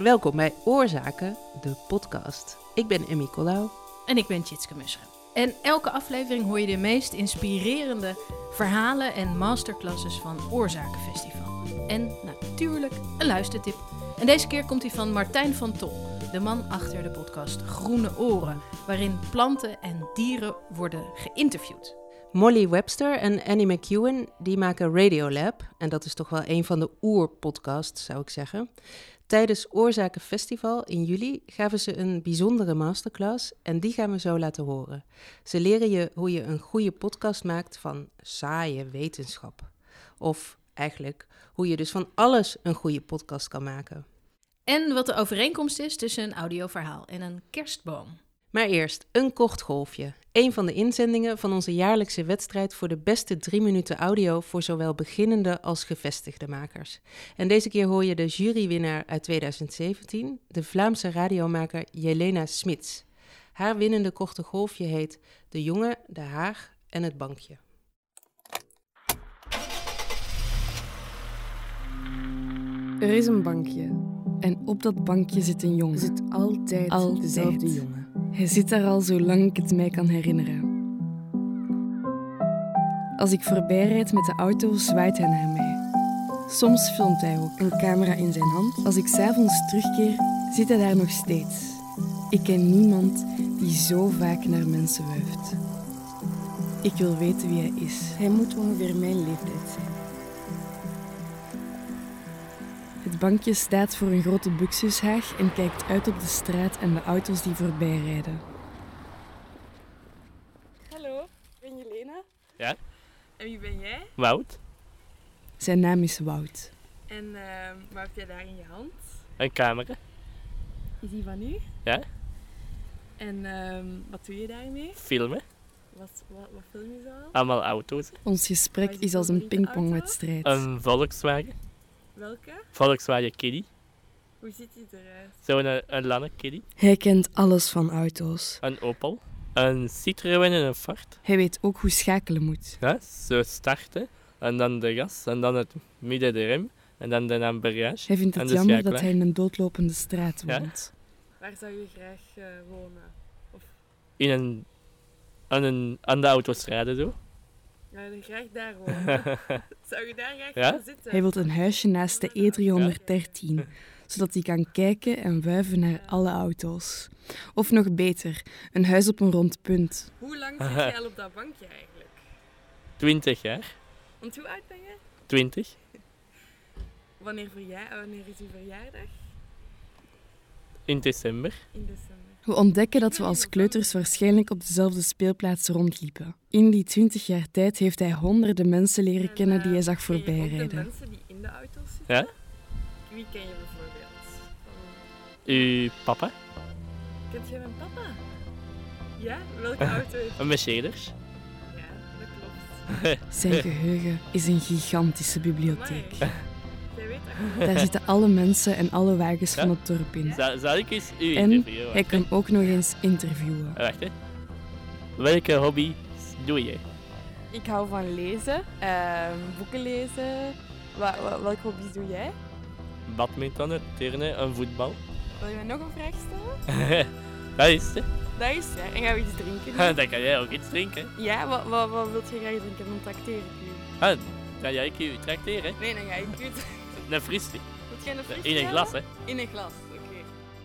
Welkom bij Oorzaken, de podcast. Ik ben Emmy Collau. En ik ben Tjitske Musche. En elke aflevering hoor je de meest inspirerende verhalen en masterclasses van Oorzakenfestival. En natuurlijk een luistertip. En deze keer komt die van Martijn van Tol, de man achter de podcast Groene Oren, waarin planten en dieren worden geïnterviewd. Molly Webster en Annie McEwen die maken Radiolab. En dat is toch wel een van de oerpodcasts, zou ik zeggen. Tijdens Oorzakenfestival in juli gaven ze een bijzondere masterclass en die gaan we zo laten horen. Ze leren je hoe je een goede podcast maakt van saaie wetenschap. Of eigenlijk hoe je dus van alles een goede podcast kan maken. En wat de overeenkomst is tussen een audioverhaal en een kerstboom. Maar eerst een kort golfje. Een van de inzendingen van onze jaarlijkse wedstrijd voor de beste 3 minuten audio voor zowel beginnende als gevestigde makers. En deze keer hoor je de jurywinnaar uit 2017, de Vlaamse radiomaker Jelena Smits. Haar winnende korte golfje heet De jongen, de haag en het bankje. Er is een bankje en op dat bankje zit een jongen. Zit altijd dezelfde jongen. Hij zit daar al zolang ik het mij kan herinneren. Als ik voorbij rijd met de auto, zwaait hij naar mij. Soms filmt hij ook. Een camera in zijn hand. Als ik 's avonds terugkeer, zit hij daar nog steeds. Ik ken niemand die zo vaak naar mensen wuift. Ik wil weten wie hij is. Hij moet ongeveer mijn leeftijd zijn. Het bankje staat voor een grote buxushaag en kijkt uit op de straat en de auto's die voorbij rijden. Hallo, ik ben Jelena. Ja? En wie ben jij? Wout, Zijn naam is Wout. En wat heb jij daar in je hand? een camera. Is die van u? Ja? En wat doe je daarmee? Filmen. Wat film je zo al? Allemaal auto's. Ons gesprek is als een pingpongwedstrijd. Een Volkswagen. Welke? Volkswagen Kiddie. Hoe ziet die eruit? Zo'n een lange Kiddie. Hij kent alles van auto's. Een Opel. Een Citroën en een Ford. Hij weet ook hoe schakelen moet. Ja, zo starten. En dan de gas. En dan het midden de rem. En dan de embrayage. Hij vindt En het de jammer dat schakelaar. hij in een doodlopende straat Ja? woont. Waar zou je graag wonen? Aan de autostrade zo. Zou je graag daar wonen? Zou je daar graag Ja? gaan zitten? Hij wil een huisje naast de E313, zodat hij kan kijken en wuiven naar alle auto's. Of nog beter, een huis op een rond punt. Hoe lang zit jij al op dat bankje eigenlijk? 20 jaar. Want hoe oud ben je? 20. Wanneer is uw verjaardag? In december. In december. We ontdekken dat we als kleuters waarschijnlijk op dezelfde speelplaats rondliepen. In die 20 jaar tijd heeft hij honderden mensen leren kennen die hij zag ken je ook de voorbijrijden. mensen die in de auto's zitten? Ja? Wie ken je bijvoorbeeld? Uw papa. Kent jij mijn papa? Ja? Welke auto heeft Een Mercedes. Ja, dat klopt. Zijn geheugen is een gigantische bibliotheek. Amai. Jij weet dat. Daar zitten alle mensen en alle wagens van het dorp in. Zal ik eens u En interviewen? hij kan ook nog eens interviewen. Wacht, hè. Welke hobby doe je? Ik hou van lezen, boeken lezen. Welke hobby's doe jij? Badminton, turnen en voetbal. Wil je mij nog een vraag stellen? Dat is het. Dat is ja. En gaan we iets drinken? Dan kan jij ook iets drinken. Ja, wat wilt je graag drinken? Dan trakteer ik u. Dan ga ik u trakteren. Nee, dan ga ik u. Een fristie. Moet jij een frisje In een hebben? glas, hè. In een glas, oké.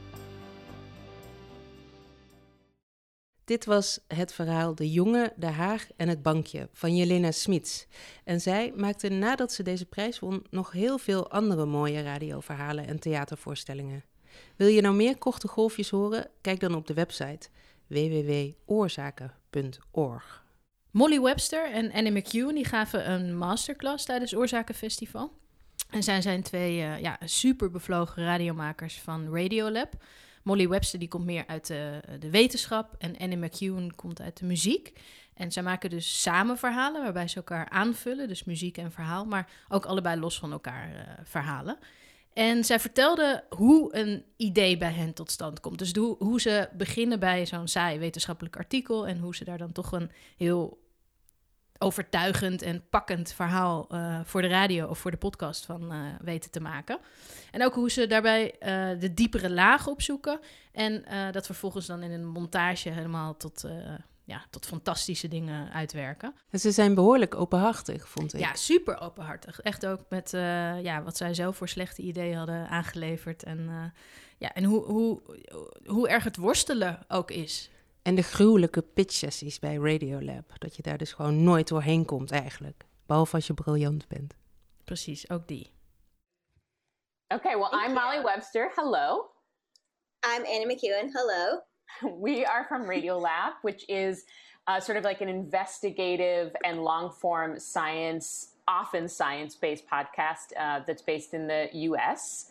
Dit was het verhaal De jongen, de haag en het bankje van Jelena Smits. En zij maakte nadat ze deze prijs won nog heel veel andere mooie radioverhalen en theatervoorstellingen. Wil je nou meer korte golfjes horen? Kijk dan op de website www.oorzaken.org. Molly Webster en Annie McEwen die gaven een masterclass tijdens Oorzakenfestival. En zij zijn twee super bevlogen radiomakers van Radiolab. Molly Webster die komt meer uit de wetenschap en Annie McEwen komt uit de muziek. En zij maken dus samen verhalen waarbij ze elkaar aanvullen, dus muziek en verhaal, maar ook allebei los van elkaar verhalen. En zij vertelde hoe een idee bij hen tot stand komt. Dus hoe ze beginnen bij zo'n saai wetenschappelijk artikel en hoe ze daar dan toch een heel overtuigend en pakkend verhaal voor de radio of voor de podcast van weten te maken. En ook hoe ze daarbij de diepere lagen opzoeken en dat vervolgens dan in een montage helemaal tot fantastische dingen uitwerken. En ze zijn behoorlijk openhartig, vond ik. Ja, super openhartig. Echt ook met wat zij zelf voor slechte ideeën hadden aangeleverd. En hoe erg het worstelen ook is. En de gruwelijke pitch-sessies bij Radiolab. Dat je daar dus gewoon nooit doorheen komt eigenlijk. Behalve als je briljant bent. Precies, ook die. Okay, well, I'm Molly Webster. Hello. I'm Anna McEwen. Hello. We are from Radiolab, which is sort of like an investigative and long-form science, often science-based podcast that's based in the U.S.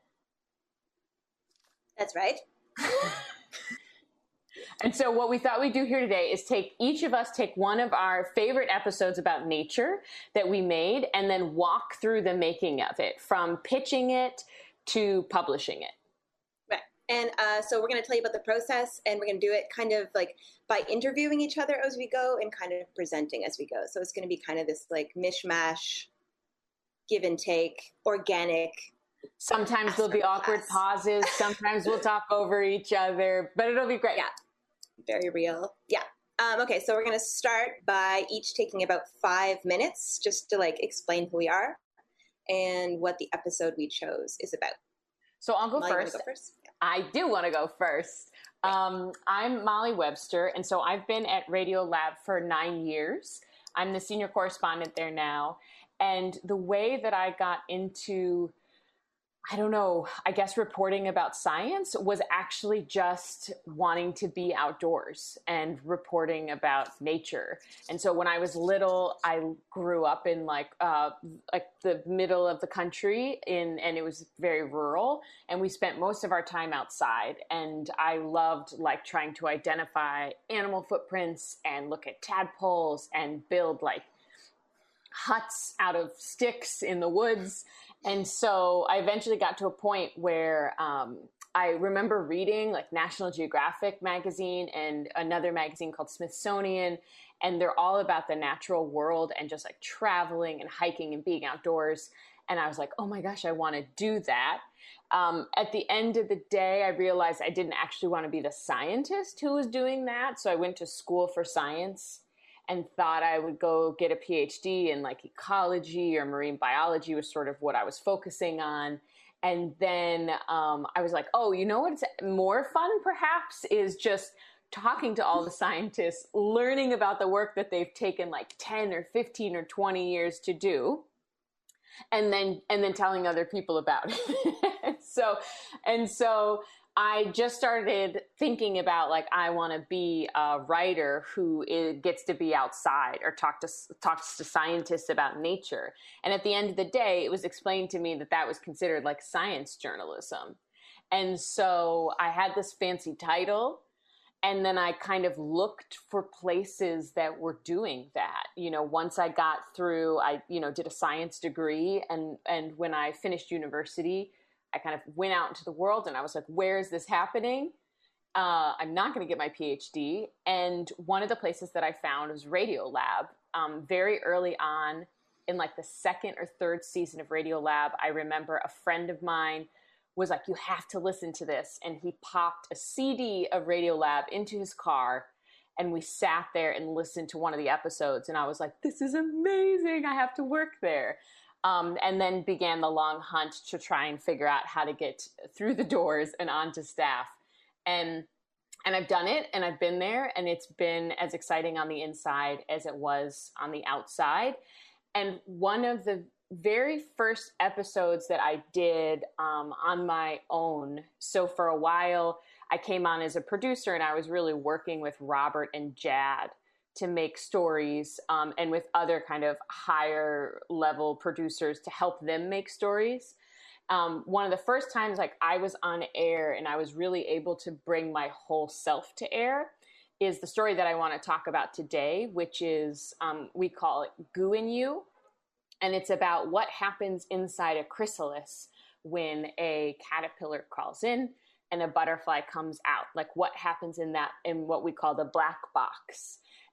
That's right. And so what we thought we'd do here today is each of us take one of our favorite episodes about nature that we made and then walk through the making of it, from pitching it to publishing it. Right. And so we're going to tell you about the process, and we're going to do it kind of like by interviewing each other as we go and kind of presenting as we go. So it's going to be kind of this like mishmash, give and take, organic. Sometimes there'll be awkward pauses. Sometimes we'll talk over each other, but it'll be great. Yeah. Very real. Yeah. Okay, so we're going to start by each taking about 5 minutes just to like explain who we are and what the episode we chose is about. So I'll go Molly, first. You wanna go first? Yeah. I do want to go first. I'm Molly Webster, and so I've been at Radiolab for 9 years. I'm the senior correspondent there now. And the way that I got into, I don't know, I guess reporting about science was actually just wanting to be outdoors and reporting about nature. And so when I was little, I grew up in like the middle of the country and it was very rural, and we spent most of our time outside. And I loved like trying to identify animal footprints and look at tadpoles and build like huts out of sticks in the woods. And so I eventually got to a point where I remember reading like National Geographic magazine and another magazine called Smithsonian, and they're all about the natural world and just like traveling and hiking and being outdoors. And I was like, oh my gosh, I want to do that. At the end of the day, I realized I didn't actually want to be the scientist who was doing that. So I went to school for science and thought I would go get a PhD in like ecology or marine biology was sort of what I was focusing on. And then I was like, oh, you know what's more fun perhaps is just talking to all the scientists, learning about the work that they've taken like 10 or 15 or 20 years to do, and then telling other people about it. So I just started thinking about like, I want to be a writer who gets to be outside or talks to scientists about nature. And at the end of the day, it was explained to me that that was considered like science journalism. And so I had this fancy title, and then I kind of looked for places that were doing that. You know, once I got through, I did a science degree, and when I finished university, I kind of went out into the world and I was like, where is this happening? I'm not going to get my PhD. And one of the places that I found was Radiolab. Very early on in like the second or third season of Radiolab, I remember a friend of mine was like, you have to listen to this. And he popped a CD of Radiolab into his car, and we sat there and listened to one of the episodes. And I was like, this is amazing. I have to work there. And then began the long hunt to try and figure out how to get through the doors and onto staff. And I've done it, and I've been there, and it's been as exciting on the inside as it was on the outside. And one of the very first episodes that I did on my own, so for a while I came on as a producer, and I was really working with Robert and Jad to make stories, and with other kind of higher level producers to help them make stories. One of the first times like I was on air and I was really able to bring my whole self to air is the story that I want to talk about today, which is, we call it Goo in You. And it's about what happens inside a chrysalis when a caterpillar crawls in and a butterfly comes out. Like what happens in what we call the black box.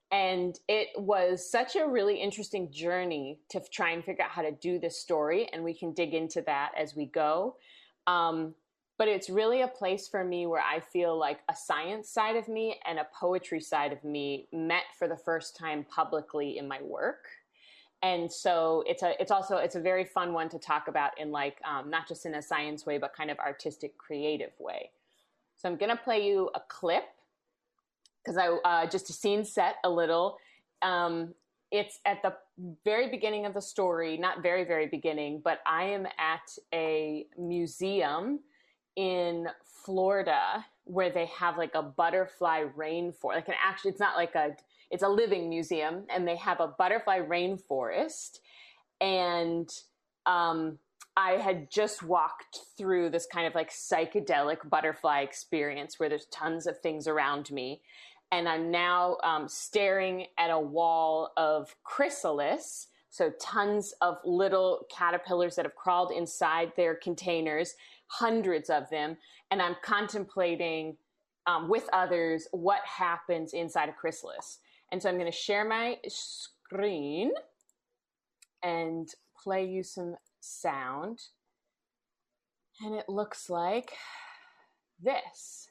And it was such a really interesting journey to try and figure out how to do this story. And we can dig into that as we go. But it's really a place for me where I feel like a science side of me and a poetry side of me met for the first time publicly in my work. And so it's a very fun one to talk about in like, not just in a science way, but kind of artistic, creative way. So I'm going to play you a clip because just a scene set a little. It's at the very beginning of the story, not very, very beginning, but I am at a museum in Florida where they have like a butterfly rainforest. It's a living museum, and they have a butterfly rainforest. And I had just walked through this kind of like psychedelic butterfly experience where there's tons of things around me. And I'm now staring at a wall of chrysalis, so tons of little caterpillars that have crawled inside their containers, hundreds of them. And I'm contemplating with others what happens inside a chrysalis. And so I'm going to share my screen and play you some sound. And it looks like this.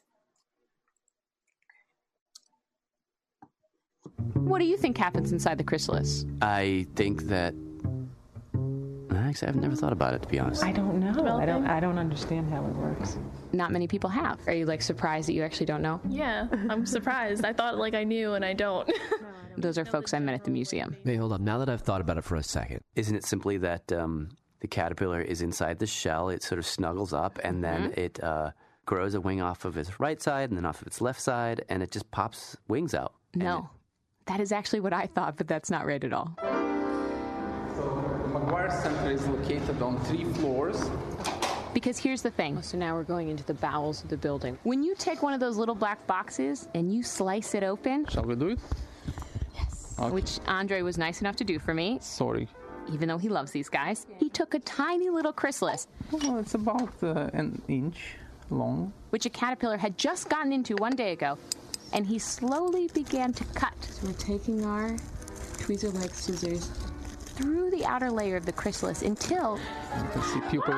What do you think happens inside the chrysalis? I think that... Actually, I've never thought about it, to be honest. I don't know. I don't understand how it works. Not many people have. Are you like surprised that you actually don't know? Yeah, I'm surprised. I thought like I knew and I don't. Those are folks I met at the museum. Hey, hold on. Now that I've thought about it for a second, isn't it simply that the caterpillar is inside the shell, it sort of snuggles up, and then it grows a wing off of its right side and then off of its left side, and it just pops wings out? No. That is actually what I thought, but that's not right at all. So McGuire Center is located on 3 floors. Because here's the thing. So now we're going into the bowels of the building. When you take one of those little black boxes and you slice it open... Shall we do it? Yes. Okay. Which Andre was nice enough to do for me. Sorry. Even though he loves these guys. He took a tiny little chrysalis. Well, it's about an inch long. Which a caterpillar had just gotten into one day ago. And he slowly began to cut. So we're taking our tweezer-like scissors through the outer layer of the chrysalis until... You can see pupil.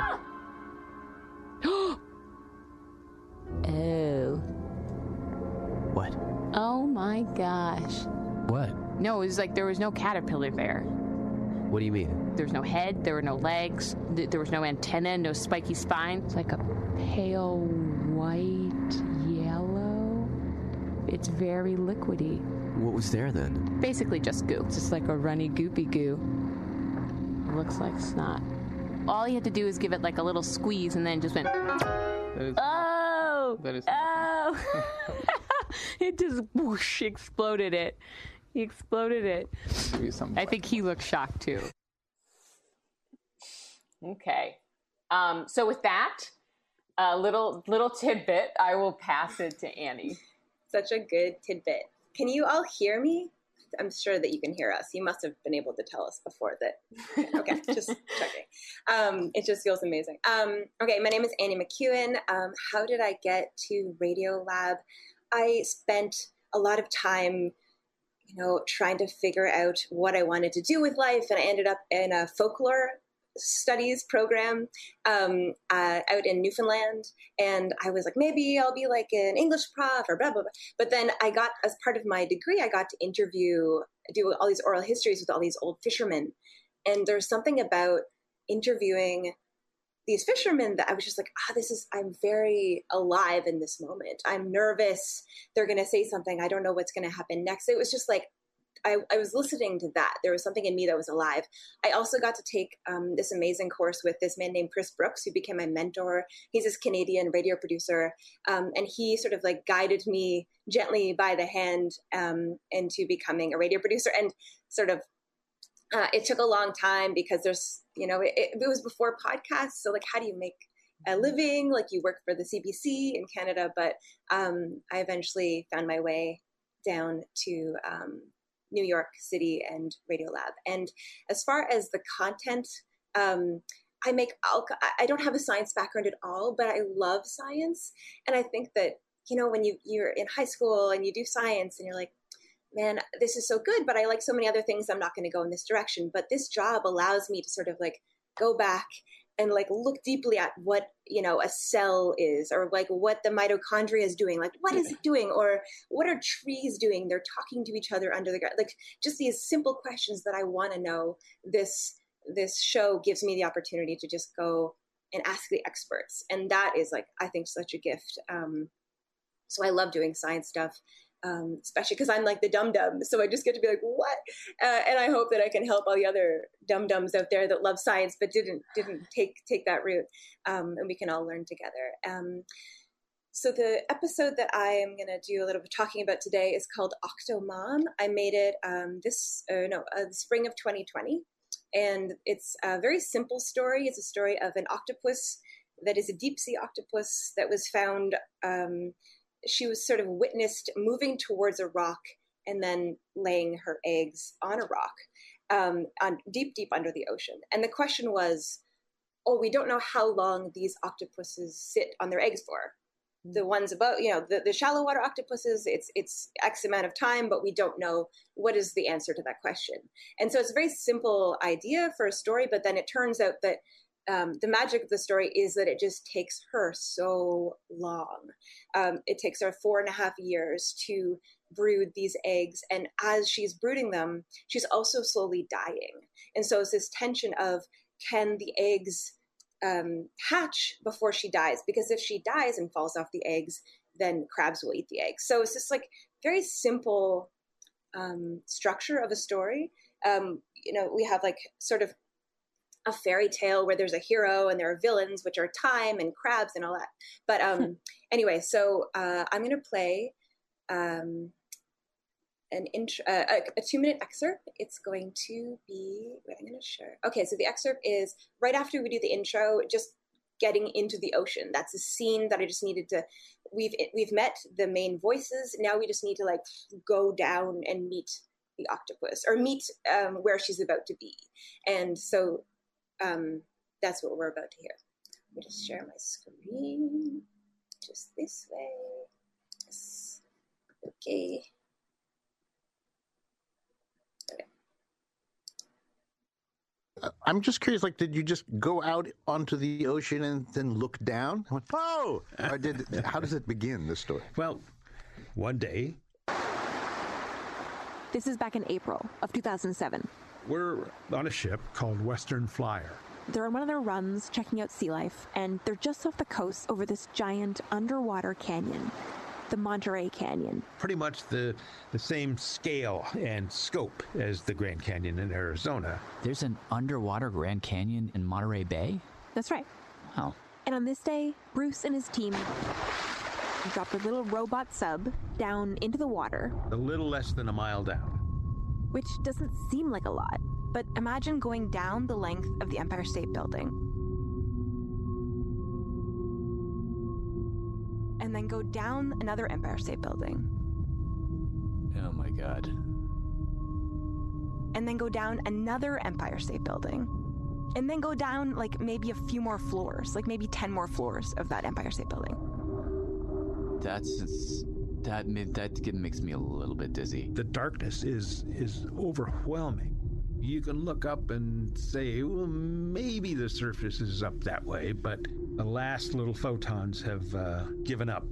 Oh. What? Oh my gosh. What? No, it was like there was no caterpillar there. What do you mean? There was no head, there were no legs, there was no antenna, no spiky spine. It's like a pale white yellow. It's very liquidy. What was there then? Basically just goo. It's just like a runny goopy goo. It looks like snot. All he had to do is give it like a little squeeze and then just went, oh! It just whoosh, exploded it. He exploded it. I think he looked shocked too. Okay. So with that, little tidbit, I will pass it to Annie. Such a good tidbit. Can you all hear me? I'm sure that you can hear us. You must have been able to tell us before that. Okay, just checking. It just feels amazing. Okay, my name is Annie McEwen. How did I get to Radiolab? I spent a lot of time, trying to figure out what I wanted to do with life, and I ended up in a folklore studies program out in Newfoundland, and I was like, maybe I'll be like an English prof or blah blah blah. But then I got, as part of my degree, I got to do all these oral histories with all these old fishermen, and there's something about interviewing these fishermen that I was just like, I'm very alive in this moment. I'm nervous. They're going to say something. I don't know what's going to happen next. It was just like, I was listening to that. There was something in me that was alive. I also got to take this amazing course with this man named Chris Brooks, who became my mentor. He's this Canadian radio producer. And he sort of like guided me gently by the hand into becoming a radio producer. And sort of, it took a long time because there's, it was before podcasts. So like, how do you make a living? Like, you work for the CBC in Canada, but I eventually found my way down to New York City and Radiolab. And as far as the content, I don't have a science background at all, but I love science. And I think that, when you're in high school and you do science and you're like, man, this is so good, but I like so many other things. I'm not going to go in this direction. But this job allows me to sort of like go back and like look deeply at what, you know, a cell is, or like what the mitochondria is doing. Like, what is it doing? Or what are trees doing? They're talking to each other under the ground. Like just these simple questions that I want to know. This show gives me the opportunity to just go and ask the experts. And that is like, I think, such a gift. So I love doing science stuff. Especially because I'm like the dum-dum. So I just get to be like, what? And I hope that I can help all the other dum-dums out there that love science but didn't take that route. And we can all learn together. So the episode that I am going to do a little bit of talking about today is called Octomom. I made it the spring of 2020. And it's a very simple story. It's a story of an octopus that is a deep sea octopus that was found she was sort of witnessed moving towards a rock and then laying her eggs on a rock on deep under the ocean. And the question was, we don't know how long these octopuses sit on their eggs for. The ones above, you know, the shallow water octopuses, it's X amount of time, but we don't know what is the answer to that question. And so it's a very simple idea for a story, but then it turns out that the magic of the story is that it just takes her so long. It takes her 4.5 years to brood these eggs. And as she's brooding them, she's also slowly dying. And so it's this tension of, can the eggs hatch before she dies? Because if she dies and falls off the eggs, then crabs will eat the eggs. So it's this like very simple structure of a story. You know, we have like sort of a fairy tale where there's a hero and there are villains, which are time and crabs and all that. But anyway, so I'm going to play a 2-minute excerpt. It's going to be, I'm going to share. Okay, so the excerpt is right after we do the intro, just getting into the ocean. That's a scene that I just needed to, we've met the main voices. Now we just need to like go down and meet the octopus, or meet where she's about to be. And so that's what we're about to hear. Let me just share my screen just this way. Yes. Okay. I'm just curious, like, did you just go out onto the ocean and then look down? I went, oh! Or how does it begin, this story? Well, one day. This is back in April of 2007. We're on a ship called Western Flyer. They're on one of their runs checking out sea life, and they're just off the coast over this giant underwater canyon, the Monterey Canyon. Pretty much the same scale and scope as the Grand Canyon in Arizona. There's an underwater Grand Canyon in Monterey Bay? That's right. Wow. And on this day, Bruce and his team dropped a little robot sub down into the water. A little less than a mile down. Which doesn't seem like a lot, but imagine going down the length of the Empire State Building. And then go down another Empire State Building. Oh my God. And then go down another Empire State Building. And then go down like maybe a few more floors, like maybe 10 more floors of that Empire State Building. That makes me a little bit dizzy. The darkness is overwhelming. You can look up and say, well, maybe the surface is up that way, but the last little photons have given up.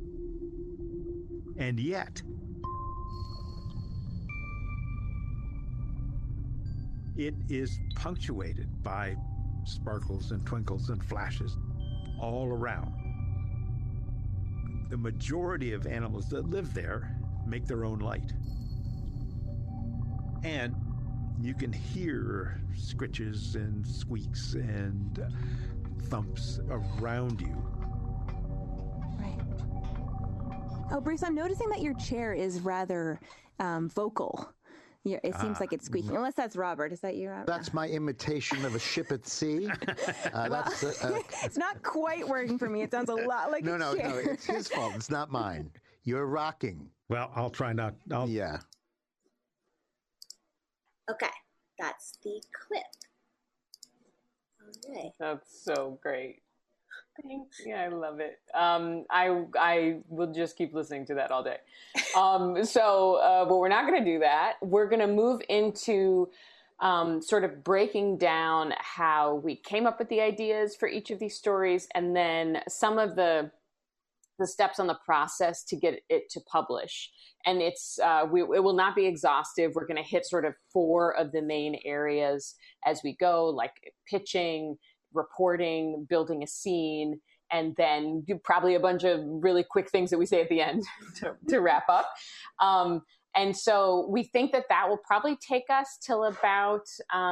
And yet, it is punctuated by sparkles and twinkles and flashes all around. The majority of animals that live there make their own light. And you can hear scritches and squeaks and thumps around you. Right. Oh, Bruce, I'm noticing that your chair is rather vocal. Yeah, it seems like it's squeaking. Unless that's Robert. Is that you, Robert? That's my imitation of a ship at sea. It's not quite working for me. It sounds a lot like a chair. No, it's his fault. It's not mine. You're rocking. Well, I'll try not. Yeah. Okay, that's the clip. Okay. That's so great. Yeah, I love it. I will just keep listening to that all day. But we're not going to do that. We're going to move into sort of breaking down how we came up with the ideas for each of these stories, and then some of the steps on the process to get it to publish. And it will not be exhaustive. We're going to hit sort of 4 of the main areas as we go, like pitching, reporting, building a scene, and then probably a bunch of really quick things that we say at the end to wrap up. And so we think that will probably take us till about,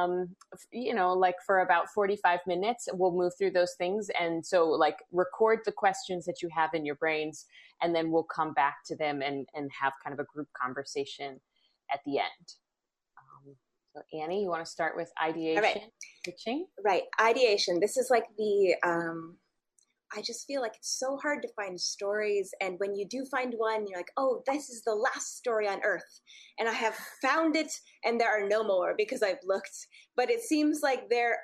for about 45 minutes. We'll move through those things. And so record the questions that you have in your brains, and then we'll come back to them and have kind of a group conversation at the end. So Annie, you want to start with ideation, pitching? Right. Ideation. This is like I just feel like it's so hard to find stories. And when you do find one, you're like, oh, this is the last story on Earth. And I have found it, and there are no more because I've looked. But it seems like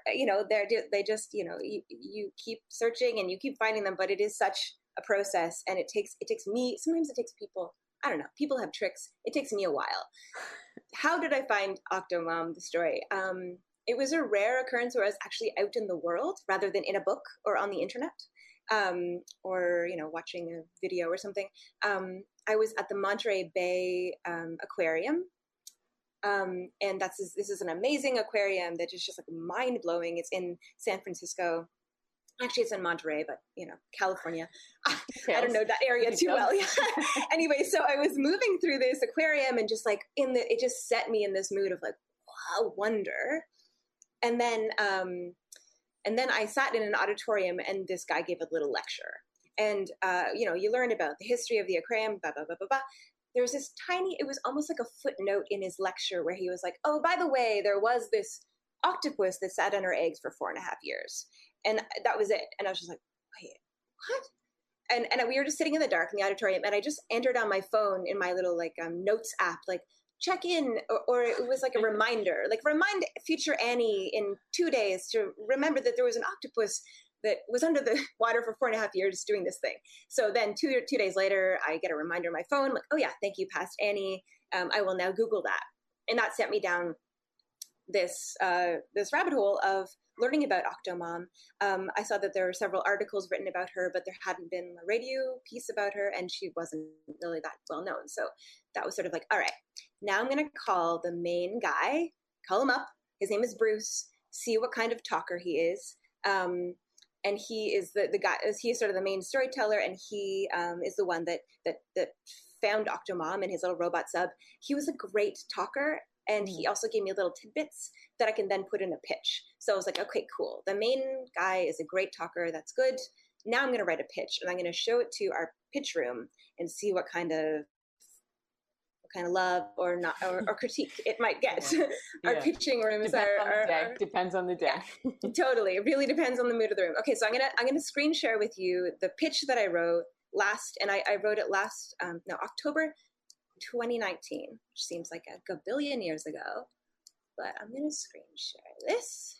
you keep searching and you keep finding them, but it is such a process. And it takes me, sometimes it takes people, I don't know, people have tricks. It takes me a while. How did I find Octomom, the story? It was a rare occurrence where I was actually out in the world rather than in a book or on the internet. Or watching a video or something. I was at the Monterey Bay Aquarium, and this is an amazing aquarium that is just like mind blowing. It's in San Francisco. Actually, it's in Monterey, but California. I don't know that area too well. Yeah. Anyway, so I was moving through this aquarium and just like it just set me in this mood of like, wow, wonder, and then I sat in an auditorium, and this guy gave a little lecture. And, you learn about the history of the aquarium, blah, blah, blah, blah, blah. There was this it was almost like a footnote in his lecture where he was like, oh, by the way, there was this octopus that sat on her eggs for 4.5 years. And that was it. And I was just like, wait, what? And we were just sitting in the dark in the auditorium, and I just entered on my phone in my little notes app, check in, or it was like a reminder, remind future Annie in 2 days to remember that there was an octopus that was under the water for 4.5 years doing this thing. So then two days later, I get a reminder on my phone, like, oh yeah, thank you, past Annie. I will now Google that. And that sent me down this rabbit hole of learning about Octomom. I saw that there were several articles written about her, but there hadn't been a radio piece about her, and she wasn't really that well known. So that was sort of like, all right, now I'm going to call the main guy, call him up. His name is Bruce, see what kind of talker he is. And he is the guy, he's sort of the main storyteller, and he is the one that found Octomom in his little robot sub. He was a great talker, and he also gave me little tidbits that I can then put in a pitch. So I was like, okay, cool. The main guy is a great talker. That's good. Now I'm going to write a pitch, and I'm going to show it to our pitch room and see what kind of love or not or critique it might get. Our pitching rooms depends on the day. Yeah, totally. It really depends on the mood of the room. Okay, so I'm gonna screen share with you the pitch that I wrote last, and I wrote it last October 2019, which seems like a gabillion years ago. But I'm gonna screen share this.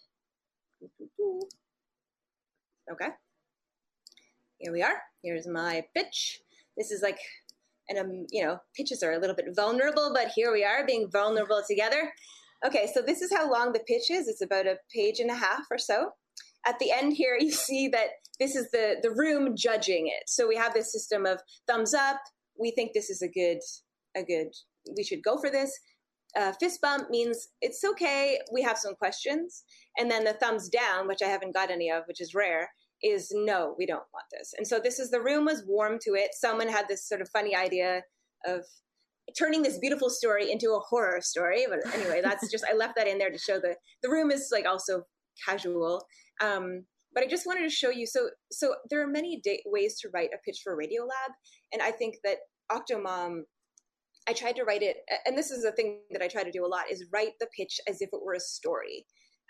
Okay. Here we are. Here's my pitch. This is like, and pitches are a little bit vulnerable, but here we are being vulnerable together. Okay, so this is how long the pitch is. It's about 1.5 pages or so. At the end here, you see that this is the room judging it. So we have this system of thumbs up. We think this is a good, we should go for this. Fist bump means it's okay. We have some questions. And then the thumbs down, which I haven't got any of, which is rare, is no, we don't want this. And so the room was warm to it. Someone had this sort of funny idea of turning this beautiful story into a horror story. But anyway, that's just, I left that in there to show the room is like also casual. But I just wanted to show you, so there are many ways to write a pitch for Radiolab. And I think that Octomom, I tried to write it, and this is a thing that I try to do a lot, is write the pitch as if it were a story.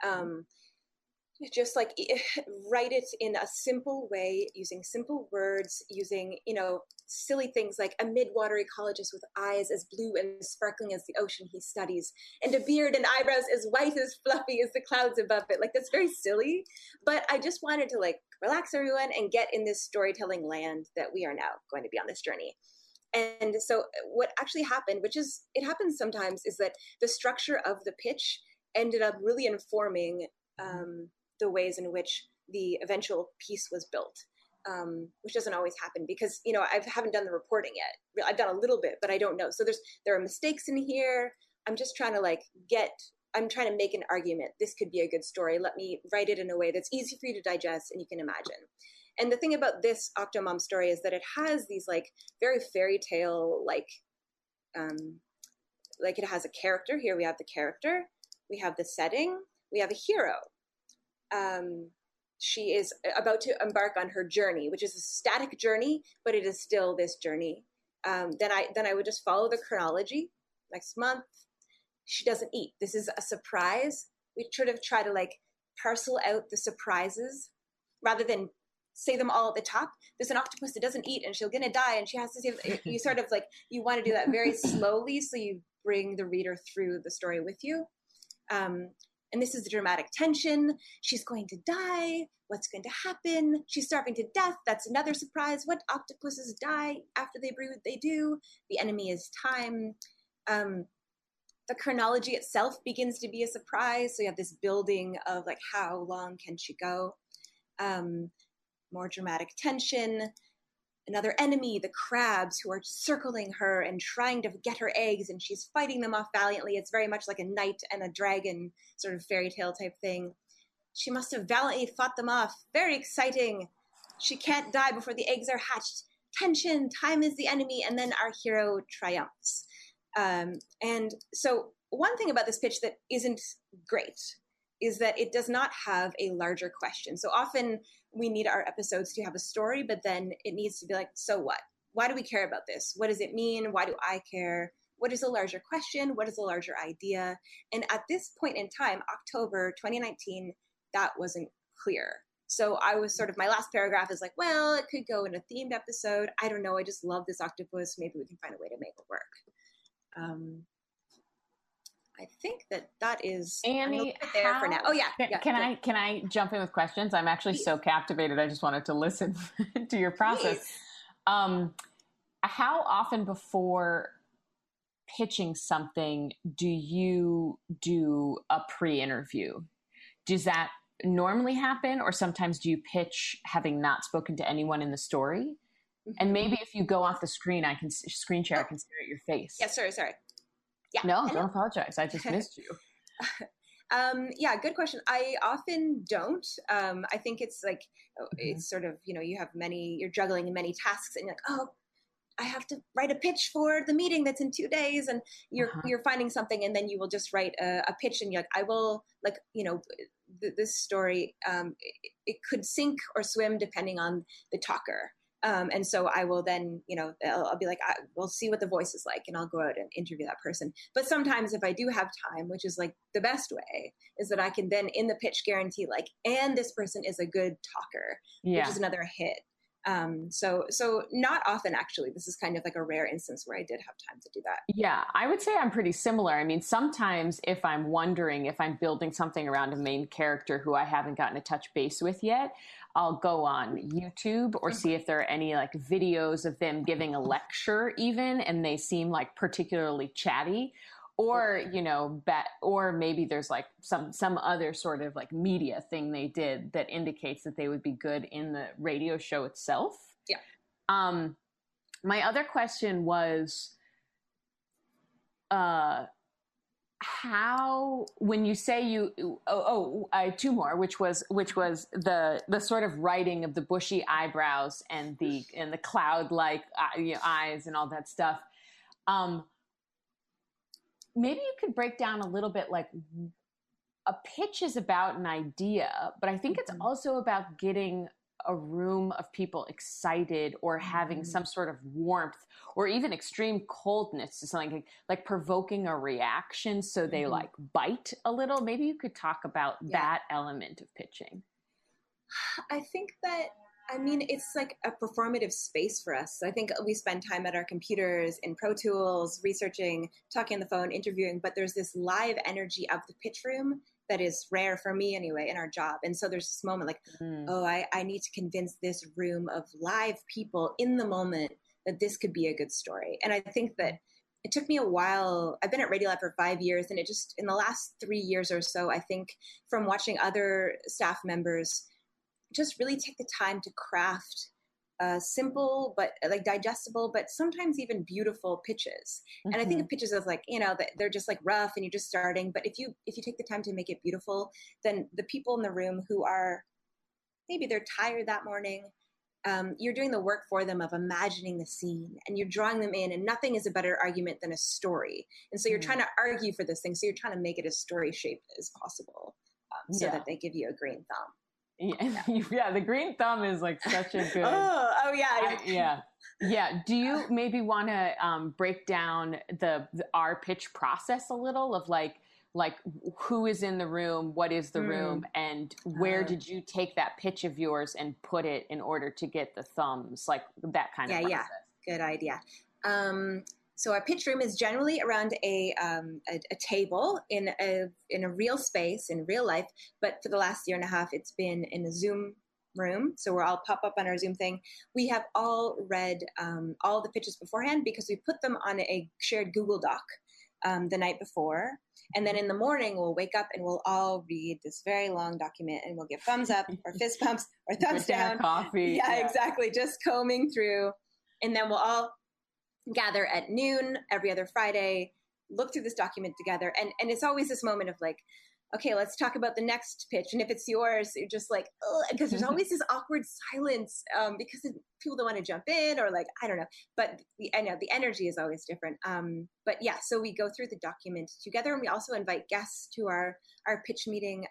Just like write it in a simple way, using simple words, using, silly things like a mid-water ecologist with eyes as blue and sparkling as the ocean he studies, and a beard and eyebrows as white as fluffy as the clouds above it. Like, that's very silly, but I just wanted to relax everyone and get in this storytelling land that we are now going to be on this journey. And so what actually happened, it happens sometimes, is that the structure of the pitch ended up really informing the ways in which the eventual piece was built, which doesn't always happen because, I haven't done the reporting yet. I've done a little bit, but I don't know. So there are mistakes in here. I'm just trying to I'm trying to make an argument. This could be a good story. Let me write it in a way that's easy for you to digest and you can imagine. And the thing about this Octomom story is that it has these very fairy tale, it has a character. Here we have the character. We have the setting. We have a hero. She is about to embark on her journey, which is a static journey, but it is still this journey. Then I would just follow the chronology. Next month, she doesn't eat. This is a surprise. We sort of try to parcel out the surprises rather than say them all at the top. There's an octopus that doesn't eat and she's going to die and she has to say, you sort of you want to do that very slowly so you bring the reader through the story with you. And this is the dramatic tension. She's going to die. What's going to happen? She's starving to death. That's another surprise. What octopuses die after they breathe? They do. The enemy is time. The chronology itself begins to be a surprise. So you have this building of how long can she go? More dramatic tension. Another enemy, the crabs, who are circling her and trying to get her eggs, and she's fighting them off valiantly. It's very much like a knight and a dragon sort of fairy tale type thing. She must have valiantly fought them off. Very exciting. She can't die before the eggs are hatched. Tension, time is the enemy, and then our hero triumphs. And so one thing about this pitch that isn't great is that it does not have a larger question. So often we need our episodes to have a story, but then it needs to be so what? Why do we care about this? What does it mean? Why do I care? What is a larger question? What is a larger idea? And at this point in time, October 2019, that wasn't clear. So I was my last paragraph is well, it could go in a themed episode. I don't know. I just love this octopus. Maybe we can find a way to make it work. I think that is Annie. There for now. Oh yeah. Can I jump in with questions? I'm actually so captivated. I just wanted to listen to your process. How often before pitching something do you do a pre-interview? Does that normally happen, or sometimes do you pitch having not spoken to anyone in the story? Mm-hmm. And maybe if you go off the screen, I can screen share. I can stare at your face. Yeah. Sorry. Yeah. No, don't apologize. I just missed you. Yeah, good question. I often don't. I think it's it's sort of, you're juggling many tasks and you're I have to write a pitch for the meeting that's in 2 days, and you're finding something, and then you will just write a pitch and you're I will this story, it could sink or swim depending on the talker. And so I will then, I'll be we'll see what the voice is like, and I'll go out and interview that person. But sometimes if I do have time, which is the best way, is that I can then in the pitch guarantee and this person is a good talker, which is another hit. So not often, actually. This is kind of a rare instance where I did have time to do that. Yeah, I would say I'm pretty similar. I mean, sometimes if I'm wondering if I'm building something around a main character who I haven't gotten to touch base with yet, I'll go on YouTube or see if there are any videos of them giving a lecture even, and they seem particularly chatty. Or, or maybe there's some other sort of media thing they did that indicates that they would be good in the radio show itself. Yeah. My other question was, how, when you say I two more, which was the sort of writing of the bushy eyebrows and the cloud-like eyes and all that stuff. Maybe you could break down a little bit, a pitch is about an idea, but I think it's also about getting a room of people excited or having some sort of warmth or even extreme coldness to something, like provoking a reaction so they bite a little. Maybe you could talk about that element of pitching. I think that, it's a performative space for us. I think we spend time at our computers in Pro Tools, researching, talking on the phone, interviewing, but there's this live energy of the pitch room that is rare for me anyway in our job. And so there's this moment like, I need to convince this room of live people in the moment that this could be a good story. And I think that it took me a while. I've been at Radiolab for 5 years, and it just, in the last 3 years or so, I think from watching other staff members just really take the time to craft simple, but like digestible, but sometimes even beautiful pitches. And I think of pitches as like, that they're just like rough and you're just starting. But if you take the time to make it beautiful, then the people in the room who are, maybe they're tired that morning, you're doing the work for them of imagining the scene and you're drawing them in, and nothing is a better argument than a story. And so you're trying to argue for this thing. So you're trying to make it as story shaped as possible so that they give you a green thumb. Yeah, the green thumb is like such a good. Yeah. Do you maybe want to break down our pitch process a little of like who is in the room, what is the room, and where did you take that pitch of yours and put it in order to get the thumbs, like that kind of process? Yeah, good idea. So our pitch room is generally around a table in a real space, in real life. But for the last year and a half, it's been in a Zoom room. So we're all pop up on our Zoom thing. We have all read all the pitches beforehand because we put them on a shared Google Doc the night before. And then in the morning, we'll wake up and we'll all read this very long document and we'll give thumbs up or fist pumps or thumbs down. Coffee. Yeah, exactly. Just combing through. And then we'll all gather at noon every other Friday, look through this document together. And it's always this moment of like, okay, let's talk about the next pitch. And if it's yours, you're just like, because there's always this awkward silence because people don't want to jump in or like, I don't know. But I know the energy is always different. But yeah, so we go through the document together, and we also invite guests to our pitch meeting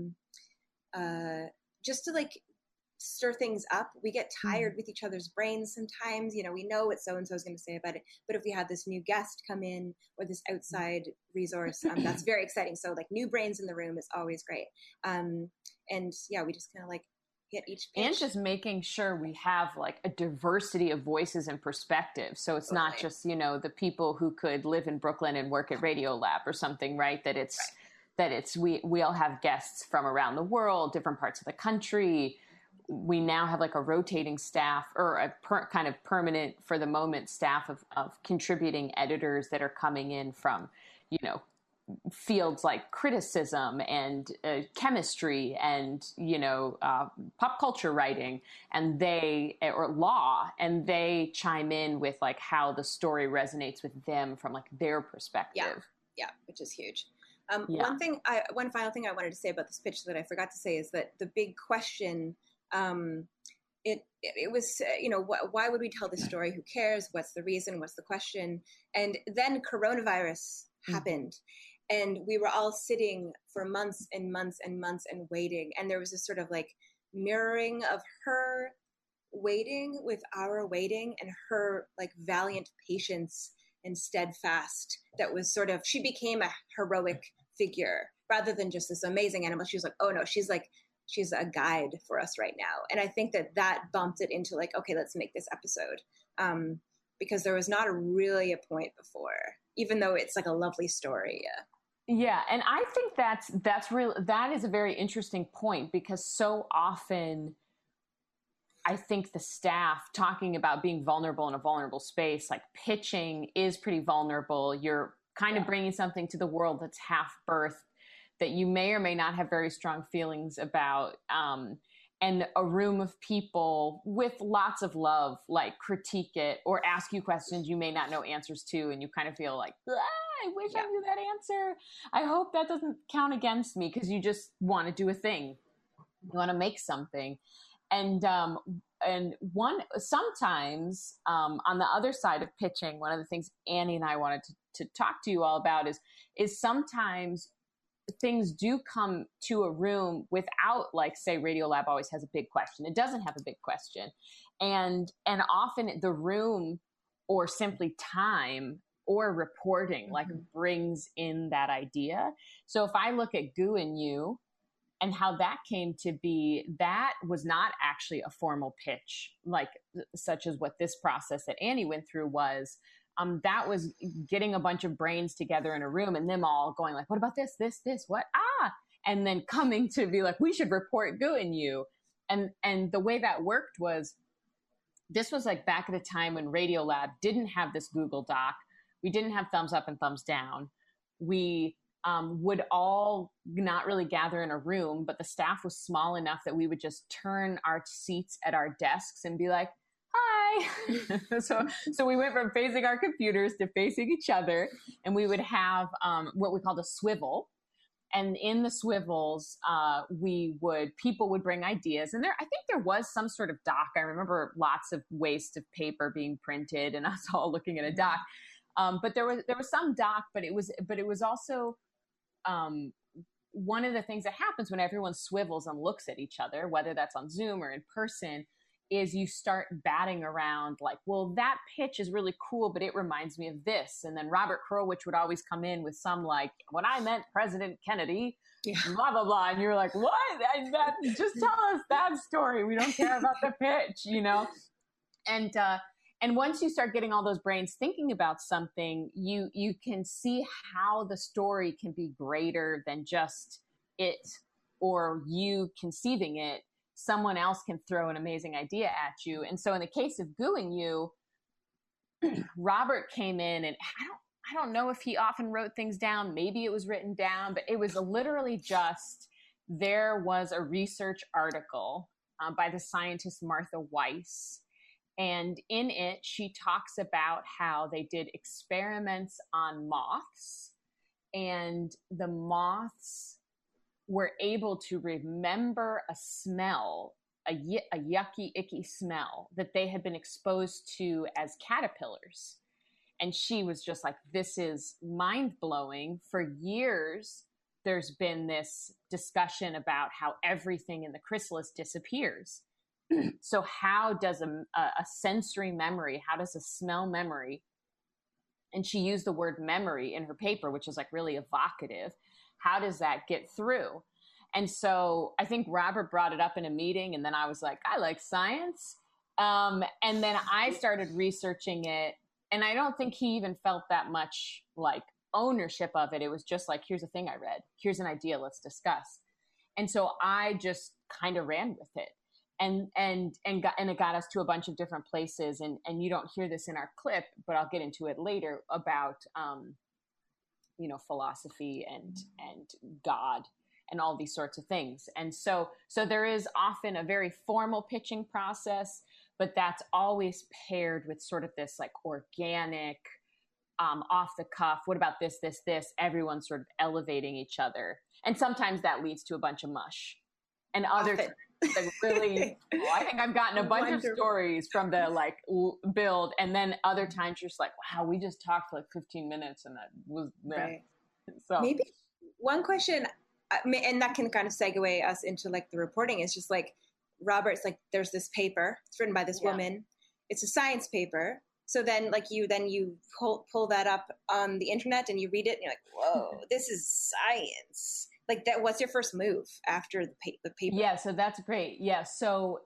just to like stir things up. We get tired with each other's brains sometimes. We know what so-and-so is going to say about it. But if we have this new guest come in or this outside resource, that's very exciting. So like new brains in the room is always great. And yeah, we just kind of like get each pitch. And just making sure we have like a diversity of voices and perspectives. So it's not just, the people who could live in Brooklyn and work at Radiolab or something, right? That it's, we all have guests from around the world, different parts of the country. We now have like a rotating staff or a kind of permanent for the moment staff of contributing editors that are coming in from, fields like criticism and chemistry and, pop culture writing or law. And they chime in with like how the story resonates with them from like their perspective. Yeah, which is huge. One final thing I wanted to say about this pitch that I forgot to say is that the big question, it was, why would we tell this story? Who cares? What's the reason? What's the question? And then coronavirus happened, and we were all sitting for months and months and months and waiting. And there was this sort of like mirroring of her waiting with our waiting, and her like valiant patience and steadfast. That was sort of, she became a heroic figure rather than just this amazing animal. She was like, oh no, she's a guide for us right now. And I think that bumped it into like, okay, let's make this episode. Because there was not really a point before, even though it's like a lovely story. Yeah. And I think that is a very interesting point, because so often I think the staff talking about being vulnerable in a vulnerable space, like pitching is pretty vulnerable. You're kind of bringing something to the world that's half birthed that you may or may not have very strong feelings about, and a room of people with lots of love, like critique it or ask you questions you may not know answers to, and you kind of feel like, I wish I knew that answer. I hope that doesn't count against me, because you just want to do a thing. You want to make something. And sometimes on the other side of pitching, one of the things Annie and I wanted to talk to you all about is sometimes things do come to a room without, like, say, Radiolab always has a big question. It doesn't have a big question. And often the room or simply time or reporting like brings in that idea. So if I look at Goo and You and how that came to be, that was not actually a formal pitch, like such as what this process that Annie went through was. That was getting a bunch of brains together in a room and them all going like, what about this, what? and then coming to be like, we should report Gooing You. And the way that worked was, this was like back at a time when Radiolab didn't have this Google Doc. We didn't have thumbs up and thumbs down. We would all not really gather in a room, but the staff was small enough that we would just turn our seats at our desks and be like, hi. So we went from facing our computers to facing each other, and we would have what we called a swivel. And in the swivels, people would bring ideas, and I think there was some sort of doc. I remember lots of waste of paper being printed, and us all looking at a doc. But there was some doc, but it was also one of the things that happens when everyone swivels and looks at each other, whether that's on Zoom or in person, is you start batting around like, well, that pitch is really cool, but it reminds me of this. And then Robert Krulwich would always come in with some like, when I met President Kennedy, blah, blah, blah. And you're like, what? Just tell us that story. We don't care about the pitch, you know? And once you start getting all those brains thinking about something, you can see how the story can be greater than just it or you conceiving it. Someone else can throw an amazing idea at you. And so in the case of Gooing You, Robert came in, and I don't know if he often wrote things down. Maybe it was written down, but it was literally just, there was a research article by the scientist Martha Weiss. And in it, she talks about how they did experiments on moths, and the moths were able to remember a smell, a yucky, icky smell that they had been exposed to as caterpillars. And she was just like, this is mind-blowing. For years, there's been this discussion about how everything in the chrysalis disappears. So how does a sensory memory, how does a smell memory, and she used the word memory in her paper, which is like really evocative, how does that get through? And so I think Robert brought it up in a meeting, and then I was like, I like science. And then I started researching it, and I don't think he even felt that much like ownership of it. It was just like, here's a thing I read. Here's an idea. Let's discuss. And so I just kind of ran with it. And it got us to a bunch of different places. And you don't hear this in our clip, but I'll get into it later about, philosophy and God and all these sorts of things. And so there is often a very formal pitching process, but that's always paired with sort of this like organic, off the cuff. What about this, everyone's sort of elevating each other. And sometimes that leads to a bunch of mush. And other times, like really, I think I've gotten a bunch of stories from the like build, and then other times you're just like, wow, we just talked for like 15 minutes, and that was right. So maybe one question, and that can kind of segue us into like the reporting, is just like Robert's like, there's this paper, it's written by this woman, it's a science paper. So then like you pull that up on the internet and you read it and you're like, whoa, this is science. Like that, what's your first move after the paper? Yeah, so that's great. Yeah, so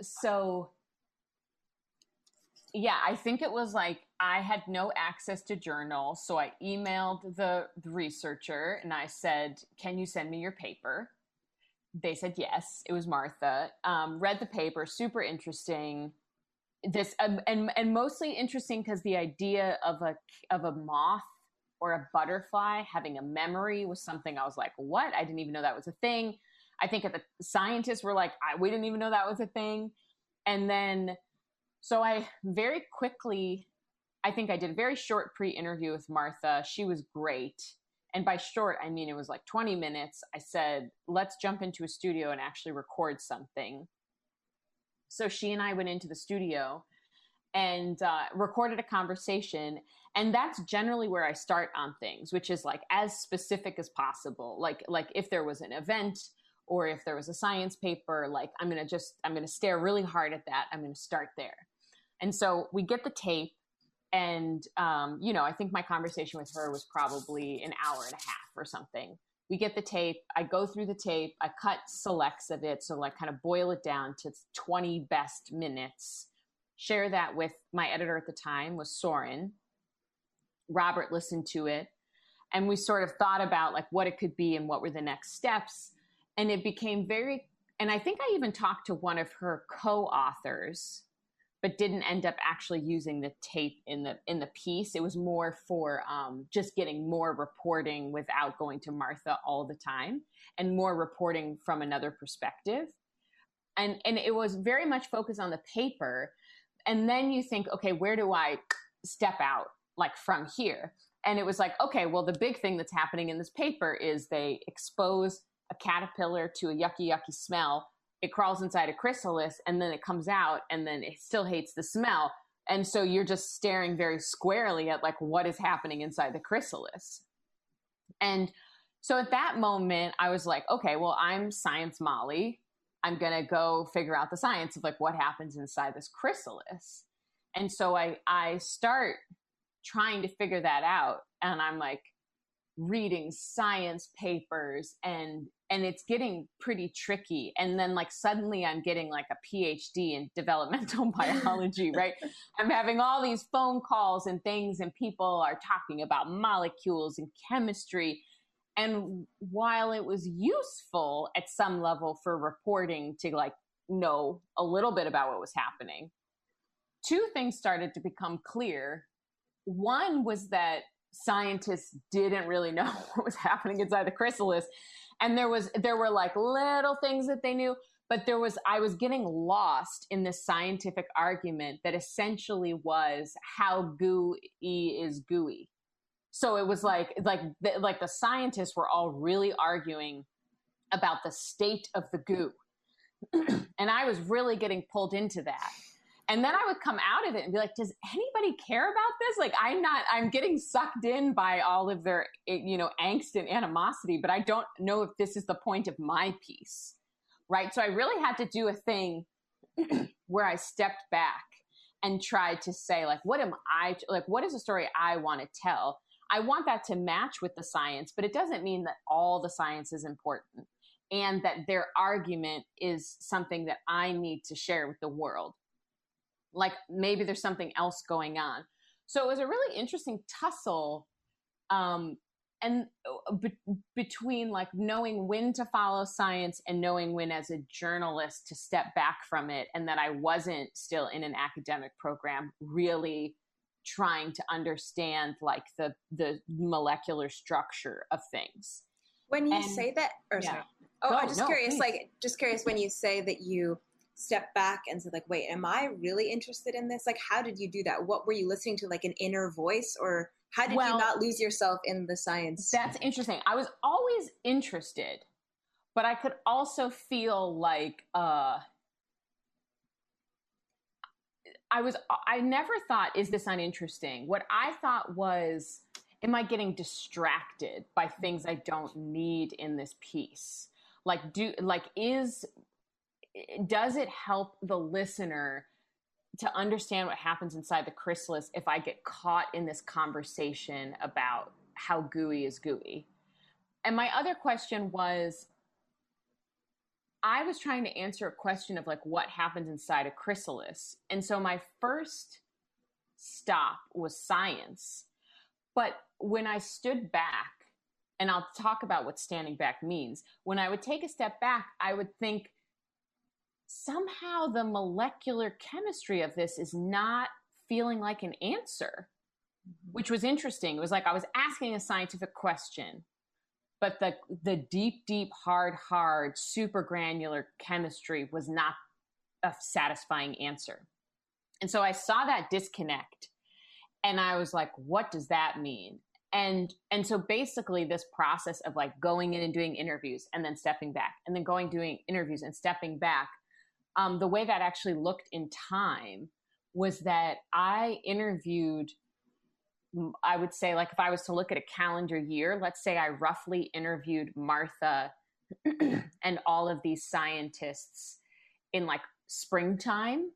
yeah, I think it was like I had no access to journals, so I emailed the researcher and I said, "Can you send me your paper?" They said yes. It was Martha. Read the paper, super interesting. This and mostly interesting because the idea of a moth or a butterfly having a memory was something I was like, what? I didn't even know that was a thing. I think the scientists were like, we didn't even know that was a thing. And then, so I very quickly, I think I did a very short pre-interview with Martha. She was great. And by short, I mean, it was like 20 minutes. I said, let's jump into a studio and actually record something. So she and I went into the studio and recorded a conversation. And that's generally where I start on things, which is like as specific as possible. Like if there was an event or if there was a science paper, like I'm going to stare really hard at that. I'm going to start there. And so we get the tape and, I think my conversation with her was probably an hour and a half or something. We get the tape. I go through the tape. I cut selects of it. So like kind of boil it down to 20 best minutes. Share that with my editor at the time was Soren. Robert listened to it and we sort of thought about like what it could be and what were the next steps. And it became and I think I even talked to one of her co-authors, but didn't end up actually using the tape in the piece. It was more for just getting more reporting without going to Martha all the time, and more reporting from another perspective. And it was very much focused on the paper. And then you think, okay, where do I step out, like, from here? And it was like, okay, well, the big thing that's happening in this paper is they expose a caterpillar to a yucky smell. It crawls inside a chrysalis, and then it comes out, and then it still hates the smell. And so you're just staring very squarely at, like, what is happening inside the chrysalis. And so at that moment, I was like, okay, well, I'm Science Molly. I'm going to go figure out the science of, like, what happens inside this chrysalis. And so I start trying to figure that out. And I'm like reading science papers, and it's getting pretty tricky. And then, like, suddenly I'm getting like a PhD in developmental biology, right? I'm having all these phone calls and things, and people are talking about molecules and chemistry. And while it was useful at some level for reporting to, like, know a little bit about what was happening, two things started to become clear. One was that scientists didn't really know what was happening inside the chrysalis. And there were like little things that they knew, but I was getting lost in this scientific argument that essentially was how gooey is gooey. So it was like the scientists were all really arguing about the state of the goo. And I was really getting pulled into that. And then I would come out of it and be like, does anybody care about this? Like, I'm getting sucked in by all of their, angst and animosity, but I don't know if this is the point of my piece, right? So I really had to do a thing where I stepped back and tried to say, like, what is the story I want to tell? I want that to match with the science, but it doesn't mean that all the science is important and that their argument is something that I need to share with the world. Like, maybe there's something else going on. So it was a really interesting tussle between, like, knowing when to follow science and knowing when, as a journalist, to step back from it, and that I wasn't still in an academic program really trying to understand, like, the molecular structure of things. When you say that, sorry. Oh, I'm just curious, please. Curious when you say that you step back and said, like, wait, am I really interested in this? Like, how did you do that? What were you listening to, like an inner voice, or how did you not lose yourself in the science? That's interesting. I was always interested, but I could also feel like, I never thought, is this uninteresting? What I thought was, am I getting distracted by things I don't need in this piece? Does it help the listener to understand what happens inside the chrysalis if I get caught in this conversation about how gooey is gooey? And my other question was, I was trying to answer a question of, like, what happens inside a chrysalis. And so my first stop was science. But when I stood back, and I'll talk about what standing back means, when I would take a step back, I would think, somehow the molecular chemistry of this is not feeling like an answer, which was interesting. It was like I was asking a scientific question, but the deep, hard, super granular chemistry was not a satisfying answer. And so I saw that disconnect, and I was like, what does that mean? And so basically this process of, like, going in and doing interviews and then stepping back, and then doing interviews and stepping back, the way that actually looked in time was that I interviewed, I would say, like, if I was to look at a calendar year, let's say I roughly interviewed Martha and all of these scientists in, like, springtime.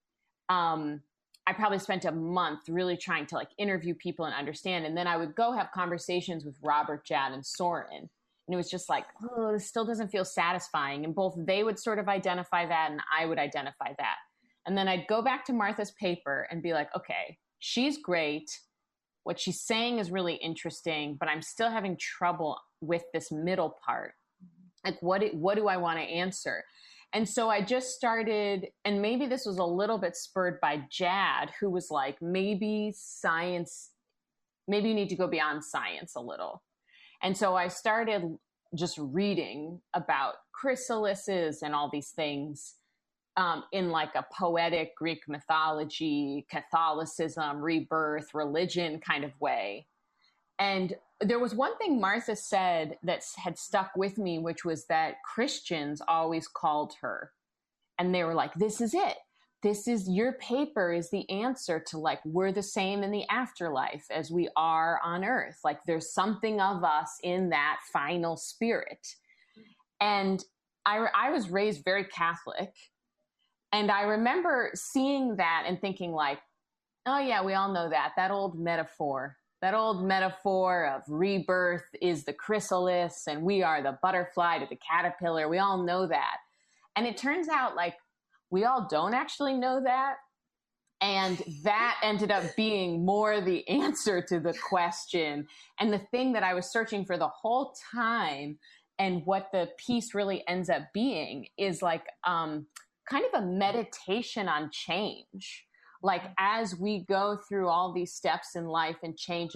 I probably spent a month really trying to, like, interview people and understand. And then I would go have conversations with Robert, Jad, and Soren. And it was just like, oh, this still doesn't feel satisfying. And both they would sort of identify that, and I would identify that. And then I'd go back to Martha's paper and be like, okay, she's great. What she's saying is really interesting, but I'm still having trouble with this middle part. Like, what do I want to answer? And so I just started, and maybe this was a little bit spurred by Jad, who was like, maybe you need to go beyond science a little. And so I started just reading about chrysalises and all these things in like a poetic Greek mythology, Catholicism, rebirth, religion kind of way. And there was one thing Martha said that had stuck with me, which was that Christians always called her and they were like, this is it. This is your paper is the answer to like, we're the same in the afterlife as we are on earth. Like there's something of us in that final spirit. And I was raised very Catholic. And I remember seeing that and thinking like, oh yeah, we all know that old metaphor of rebirth is the chrysalis and we are the butterfly to the caterpillar. We all know that. And it turns out like we all don't actually know that. And that ended up being more the answer to the question. And the thing that I was searching for the whole time and what the piece really ends up being is like kind of a meditation on change. Like as we go through all these steps in life and change,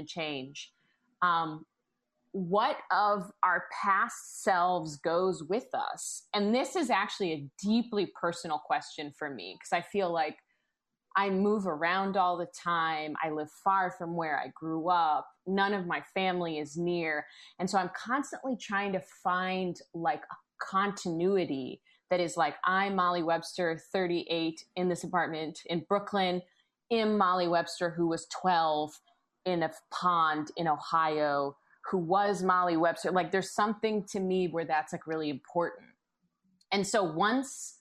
what of our past selves goes with us? And this is actually a deeply personal question for me because I feel like I move around all the time. I live far from where I grew up. None of my family is near. And so I'm constantly trying to find like a continuity that is like, I'm Molly Webster, 38, in this apartment in Brooklyn. I'm Molly Webster, who was 12 in a pond in Ohio, who was Molly Webster. Like there's something to me where that's like really important. And so once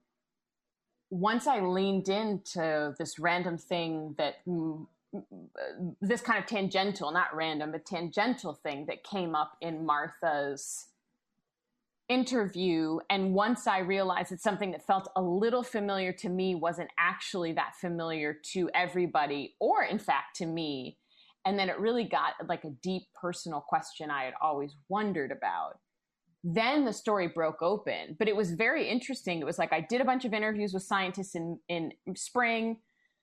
I leaned into this random thing that this kind of tangential, not random, but tangential thing that came up in Martha's interview. And once I realized that something that felt a little familiar to me wasn't actually that familiar to everybody, or in fact to me. And then it really got like a deep personal question I had always wondered about. Then the story broke open, but it was very interesting. It was like, I did a bunch of interviews with scientists in spring.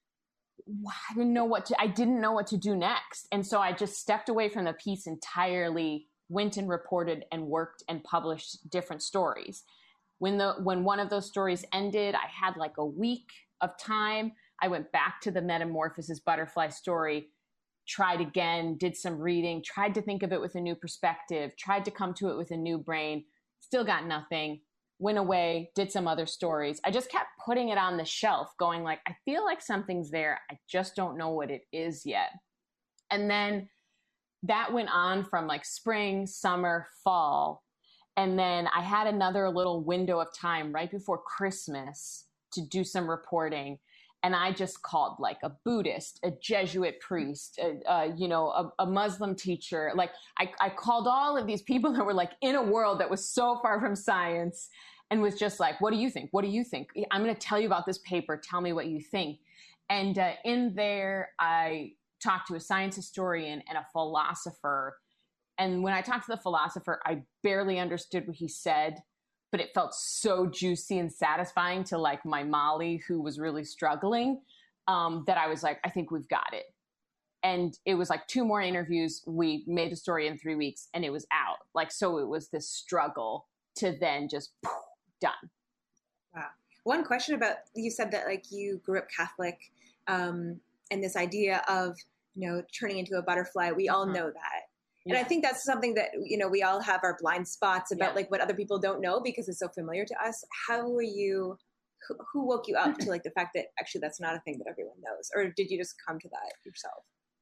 I didn't know what to do next. And so I just stepped away from the piece entirely, went and reported and worked and published different stories. When one of those stories ended, I had like a week of time. I went back to the Metamorphosis butterfly story, tried again, did some reading, tried to think of it with a new perspective, tried to come to it with a new brain, still got nothing, went away, did some other stories. I just kept putting it on the shelf going like, I feel like something's there. I just don't know what it is yet. And then that went on from like spring, summer, fall. And then I had another little window of time right before Christmas to do some reporting. And I just called like a Buddhist, a Jesuit priest, a Muslim teacher. Like I called all of these people that were like in a world that was so far from science and was just like, what do you think? What do you think? I'm going to tell you about this paper. Tell me what you think. And in there, I talked to a science historian and a philosopher. And when I talked to the philosopher, I barely understood what he said, but it felt so juicy and satisfying to like my Molly, who was really struggling, that I was like, I think we've got it. And it was like 2 more interviews. We made the story in 3 weeks and it was out. Like, so it was this struggle to then just done. Wow. One question about, you said that like you grew up Catholic, and this idea of, turning into a butterfly, we all know that. Yeah. And I think that's something that, we all have our blind spots about like what other people don't know because it's so familiar to us. How were you, who woke you up to like the fact that actually that's not a thing that everyone knows? Or did you just come to that yourself?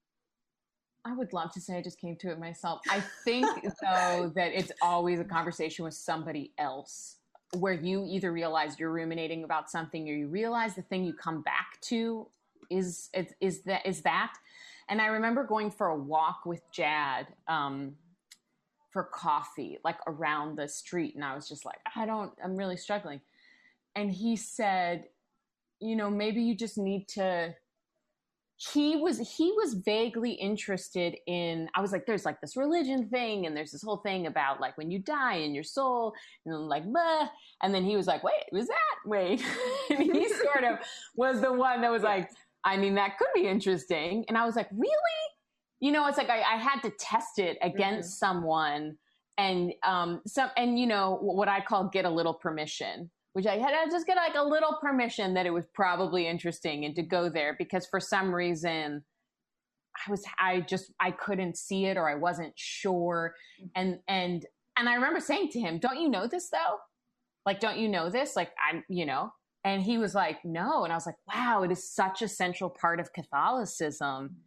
I would love to say I just came to it myself. I think though that it's always a conversation with somebody else where you either realize you're ruminating about something or you realize the thing you come back to is that. And I remember going for a walk with Jad for coffee, like around the street. And I was just like, I'm really struggling. And he said, maybe you just need to he was vaguely interested in, I was like, there's like this religion thing, and there's this whole thing about like when you die and your soul, and I'm like, bah. And then he was like, wait, and he sort of was the one that was like, I mean, that could be interesting. And I was like, really? You know, it's like I had to test it against someone, and you know, what I call get a little permission, which I had to just get like a little permission that it was probably interesting and to go there, because for some reason I couldn't see it, or I wasn't sure. And I remember saying to him, don't you know this though? Like, don't you know this? Like, you know, and he was like, no. And I was like, wow, it is such a central part of Catholicism.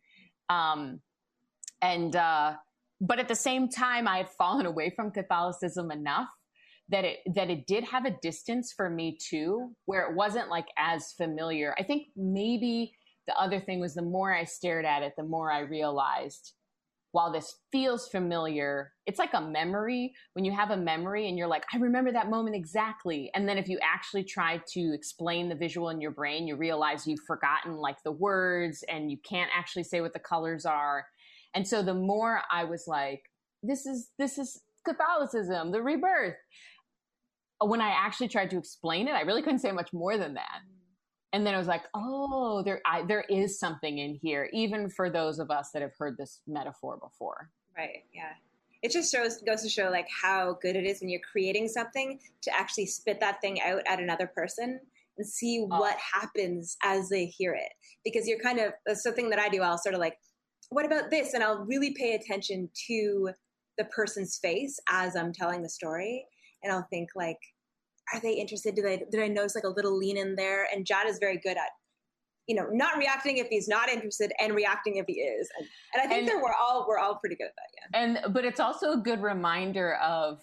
But at the same time, I had fallen away from Catholicism enough that it did have a distance for me too, where it wasn't like as familiar. I think maybe the other thing was the more I stared at it, the more I realized, while this feels familiar, it's like a memory. When you have a memory and you're like, I remember that moment exactly. And then if you actually try to explain the visual in your brain, you realize you've forgotten like the words and you can't actually say what the colors are. And so the more I was like, this is Catholicism, the rebirth. When I actually tried to explain it, I really couldn't say much more than that. And then I was like, oh, there is something in here, even for those of us that have heard this metaphor before. Right. Yeah. It just goes to show like how good it is when you're creating something to actually spit that thing out at another person and see what happens as they hear it. Because you're kind of, that's the thing that I do. I'll sort of like, what about this? And I'll really pay attention to the person's face as I'm telling the story. And I'll think like, are they interested? Did I notice like a little lean in there? And Jad is very good at, you know, not reacting if he's not interested and reacting if he is. And I think that we're all pretty good at that. Yeah. But it's also a good reminder of,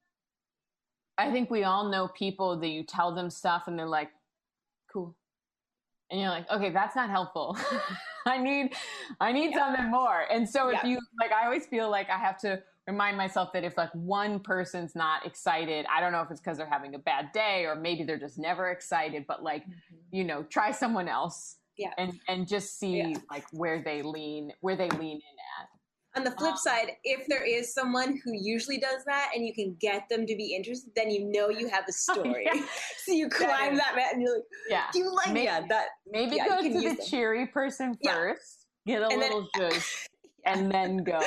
I think we all know people that you tell them stuff and they're like, cool. And you're like, okay, that's not helpful. I need something more. And so if you like, I always feel like I have to remind myself that if like one person's not excited, I don't know if it's because they're having a bad day or maybe they're just never excited, but like, you know, try someone else and just see like where they lean in at. On the flip side, if there is someone who usually does that and you can get them to be interested, then you know you have a story. So you climb that mountain and you're like, do you like maybe go to the cheery person first, get a little zhuzh, and then go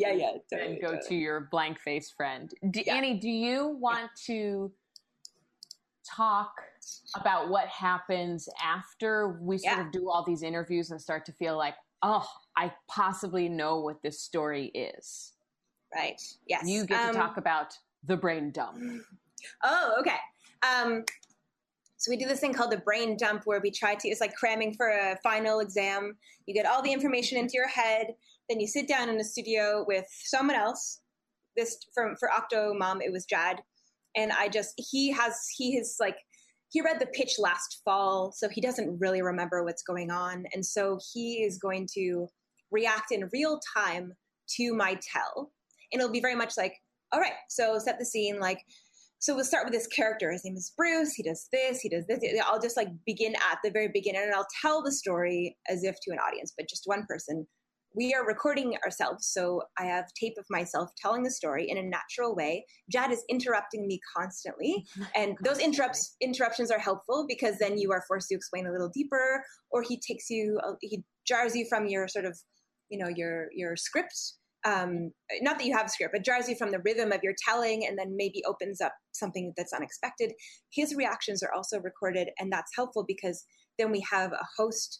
to your blank face friend. Annie, do you want to talk about what happens after we sort of do all these interviews and start to feel like, oh, I possibly know what this story is? Right. Yes. You get to talk about the brain dump. Oh, okay. So we do this thing called the brain dump where we try to, it's like cramming for a final exam. You get all the information into your head. Then you sit down in a studio with someone else. This for Octomom, it was Jad. And he read the pitch last fall, so he doesn't really remember what's going on. And so he is going to react in real time to my tell. And it'll be very much like, all right, so set the scene. Like, so we'll start with this character. His name is Bruce. He does this, he does this. I'll just like begin at the very beginning and I'll tell the story as if to an audience, but just one person. We are recording ourselves, so I have tape of myself telling the story in a natural way. Jad is interrupting me constantly, and those interruptions are helpful because then you are forced to explain a little deeper, or he jars you from your sort of, you know, your script. Not that you have a script, but jars you from the rhythm of your telling, and then maybe opens up something that's unexpected. His reactions are also recorded, and that's helpful because then we have a host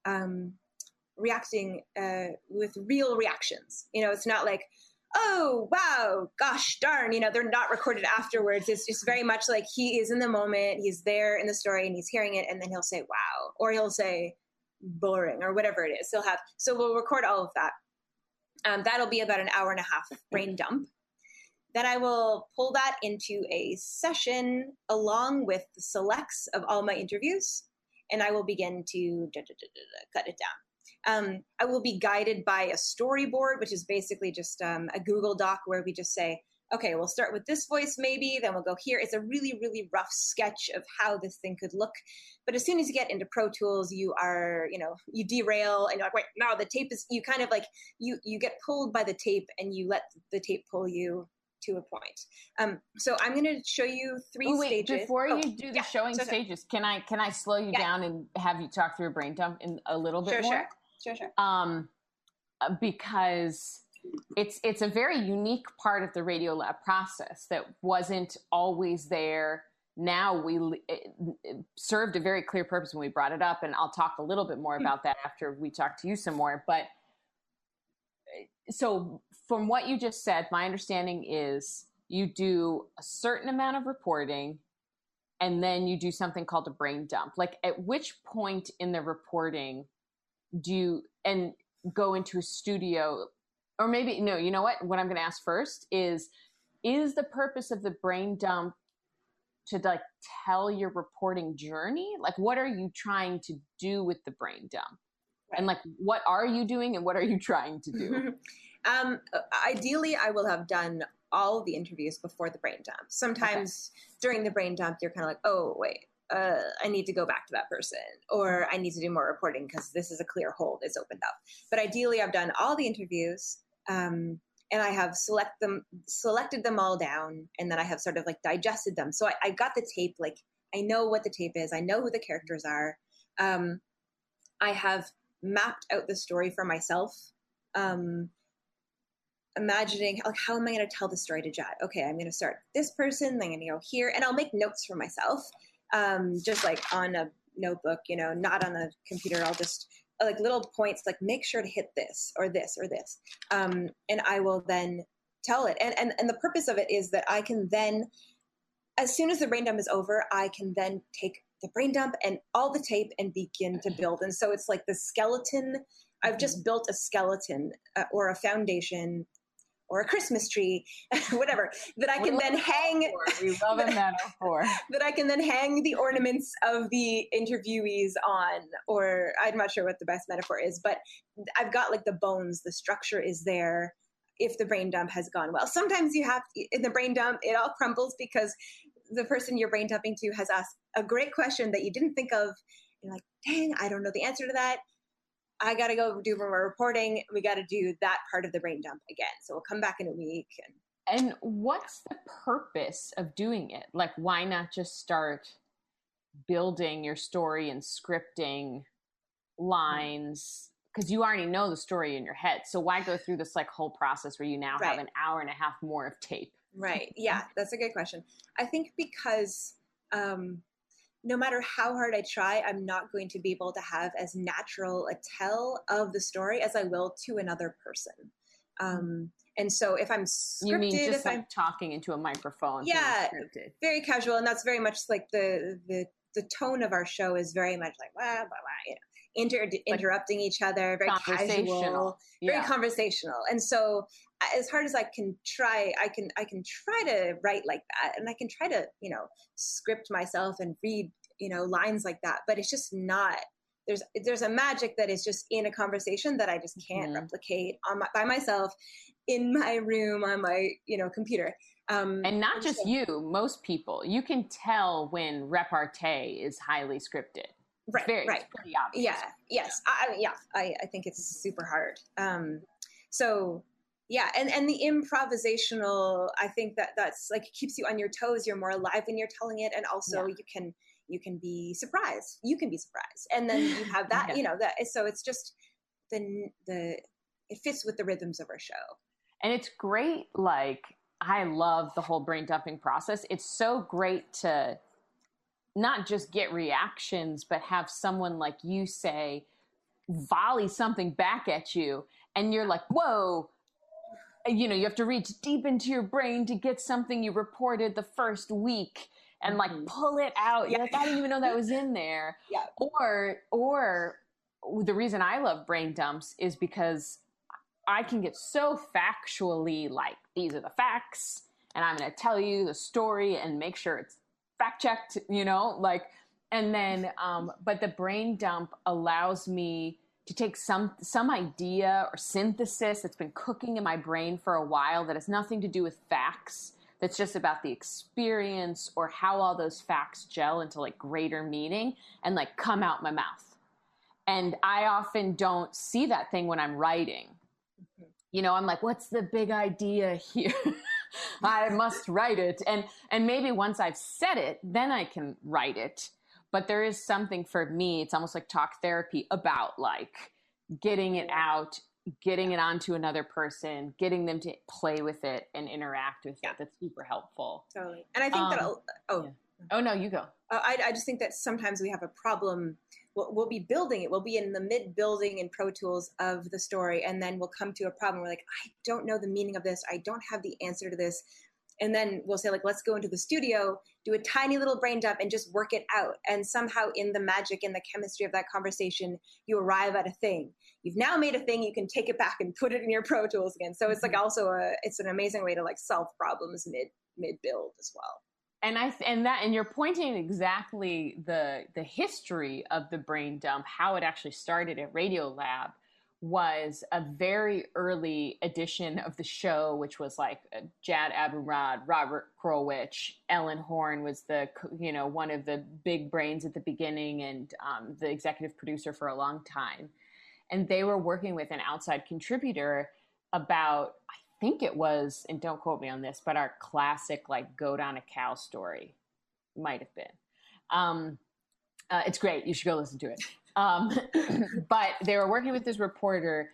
reacting with real reactions. You know, it's not like, oh, wow, gosh darn, you know, they're not recorded afterwards. It's just very much like he is in the moment, he's there in the story and he's hearing it, and then he'll say, wow, or he'll say boring or whatever it is. So we'll record all of that. That'll be about an hour and a half brain dump. Then I will pull that into a session along with the selects of all my interviews, and I will begin to cut it down. I will be guided by a storyboard, which is basically just a Google Doc where we just say, okay, we'll start with this voice maybe, then we'll go here. It's a really, really rough sketch of how this thing could look. But as soon as you get into Pro Tools, you are, you derail and you're like, wait, no, the tape is, you kind of like, you get pulled by the tape and you let the tape pull you to a point. So I'm going to show you three stages. Before you do the showing stages, can I slow you down and have you talk through a brain dump in a little bit more? Sure. Because it's a very unique part of the Radiolab process that wasn't always there. Now it served a very clear purpose when we brought it up, and I'll talk a little bit more about that after we talk to you some more. But so from what you just said, my understanding is you do a certain amount of reporting and then you do something called a brain dump. Like, at which point in the reporting do you go into a studio? Or maybe, no, you know what I'm going to ask first is the purpose of the brain dump to like tell your reporting journey? Like, what are you trying to do with the brain dump? And like, what are you doing and what are you trying to do? Ideally, I will have done all of the interviews before the brain dump. Sometimes during the brain dump, you're kind of like, oh, wait, I need to go back to that person, or I need to do more reporting because this is a clear hole that's opened up. But ideally, I've done all the interviews, and I have selected them all down, and then I have sort of like digested them. So I got the tape, like I know what the tape is. I know who the characters are. I have mapped out the story for myself, imagining like, how am I going to tell the story to Jad? Okay, I'm going to start this person, then I'm going to go here, and I'll make notes for myself, just like on a notebook, not on the computer. I'll just like little points, like make sure to hit this or this or this, and I will then tell it. And the purpose of it is that I can then, as soon as the brain dump is over, I can then take the brain dump and all the tape and begin to build. And so it's like the skeleton. I've just built a skeleton or a foundation or a Christmas tree, whatever, that I can then hang. We love a metaphor. That I can then hang the ornaments of the interviewees on, or I'm not sure what the best metaphor is, but I've got like the bones, the structure is there if the brain dump has gone well. Sometimes in the brain dump, it all crumbles because the person you're brain dumping to has asked a great question that you didn't think of. You're like, dang, I don't know the answer to that. I got to go do more reporting. We got to do that part of the brain dump again. So we'll come back in a week. And what's the purpose of doing it? Like, why not just start building your story and scripting lines? Because you already know the story in your head. So why go through this like whole process where you now have an hour and a half more of tape? Right. Yeah, that's a good question. I think because no matter how hard I try, I'm not going to be able to have as natural a tell of the story as I will to another person. And so if I'm scripted, you mean just like talking into a microphone? Yeah, very casual, and that's very much like the tone of our show is very much like blah blah blah, interrupting each other, very casual, very conversational. And so, as hard as I can try, I can try to write like that, and I can try to script myself and read lines like that. But it's just not. There's a magic that is just in a conversation that I just can't replicate by myself in my room on my computer. And not just you, most people. You can tell when repartee is highly scripted. Right. It's pretty obvious. Yeah. Yes. I think it's super hard. So yeah, and the improvisational, I think that's like keeps you on your toes. You're more alive when you're telling it, and also you can be surprised. You can be surprised, and then you have that. That. So it's just it fits with the rhythms of our show. And it's great. Like, I love the whole brain dumping process. It's so great to not just get reactions, but have someone like you say, volley something back at you. And you're like, whoa, you have to reach deep into your brain to get something you reported the first week and like pull it out. You're like, I didn't even know that was in there. Yeah. Or the reason I love brain dumps is because I can get so factually like, these are the facts, and I'm going to tell you the story and make sure it's fact checked, and then, but the brain dump allows me to take some idea or synthesis that's been cooking in my brain for a while that has nothing to do with facts, that's just about the experience or how all those facts gel into like greater meaning and like come out my mouth. And I often don't see that thing when I'm writing. You know, I'm like, what's the big idea here? I must write it. And maybe once I've said it, then I can write it. But there is something for me, it's almost like talk therapy, about like getting it out, getting it onto another person, getting them to play with it and interact with it. That's super helpful. Totally. And I think that, Oh, no, you go. I just think that sometimes we have a problem. We'll be building it. We'll be in the mid-building in Pro Tools of the story, and then we'll come to a problem. We're like, I don't know the meaning of this. I don't have the answer to this. And then we'll say, like, let's go into the studio, do a tiny little brain dump, and just work it out. And somehow in the magic and the chemistry of that conversation, you arrive at a thing. You've now made a thing. You can take it back and put it in your Pro Tools again. So it's like also it's an amazing way to like solve problems mid-build as well. And you're pointing exactly the history of the brain dump, how it actually started at Radiolab was a very early edition of the show, which was like Jad Abumrad, Robert Krulwich, Ellen Horn was one of the big brains at the beginning and the executive producer for a long time. And they were working with an outside contributor about, I think it was, and don't quote me on this, but our classic like Goat on a Cow story. Might have been. It's great. You should go listen to it. But they were working with this reporter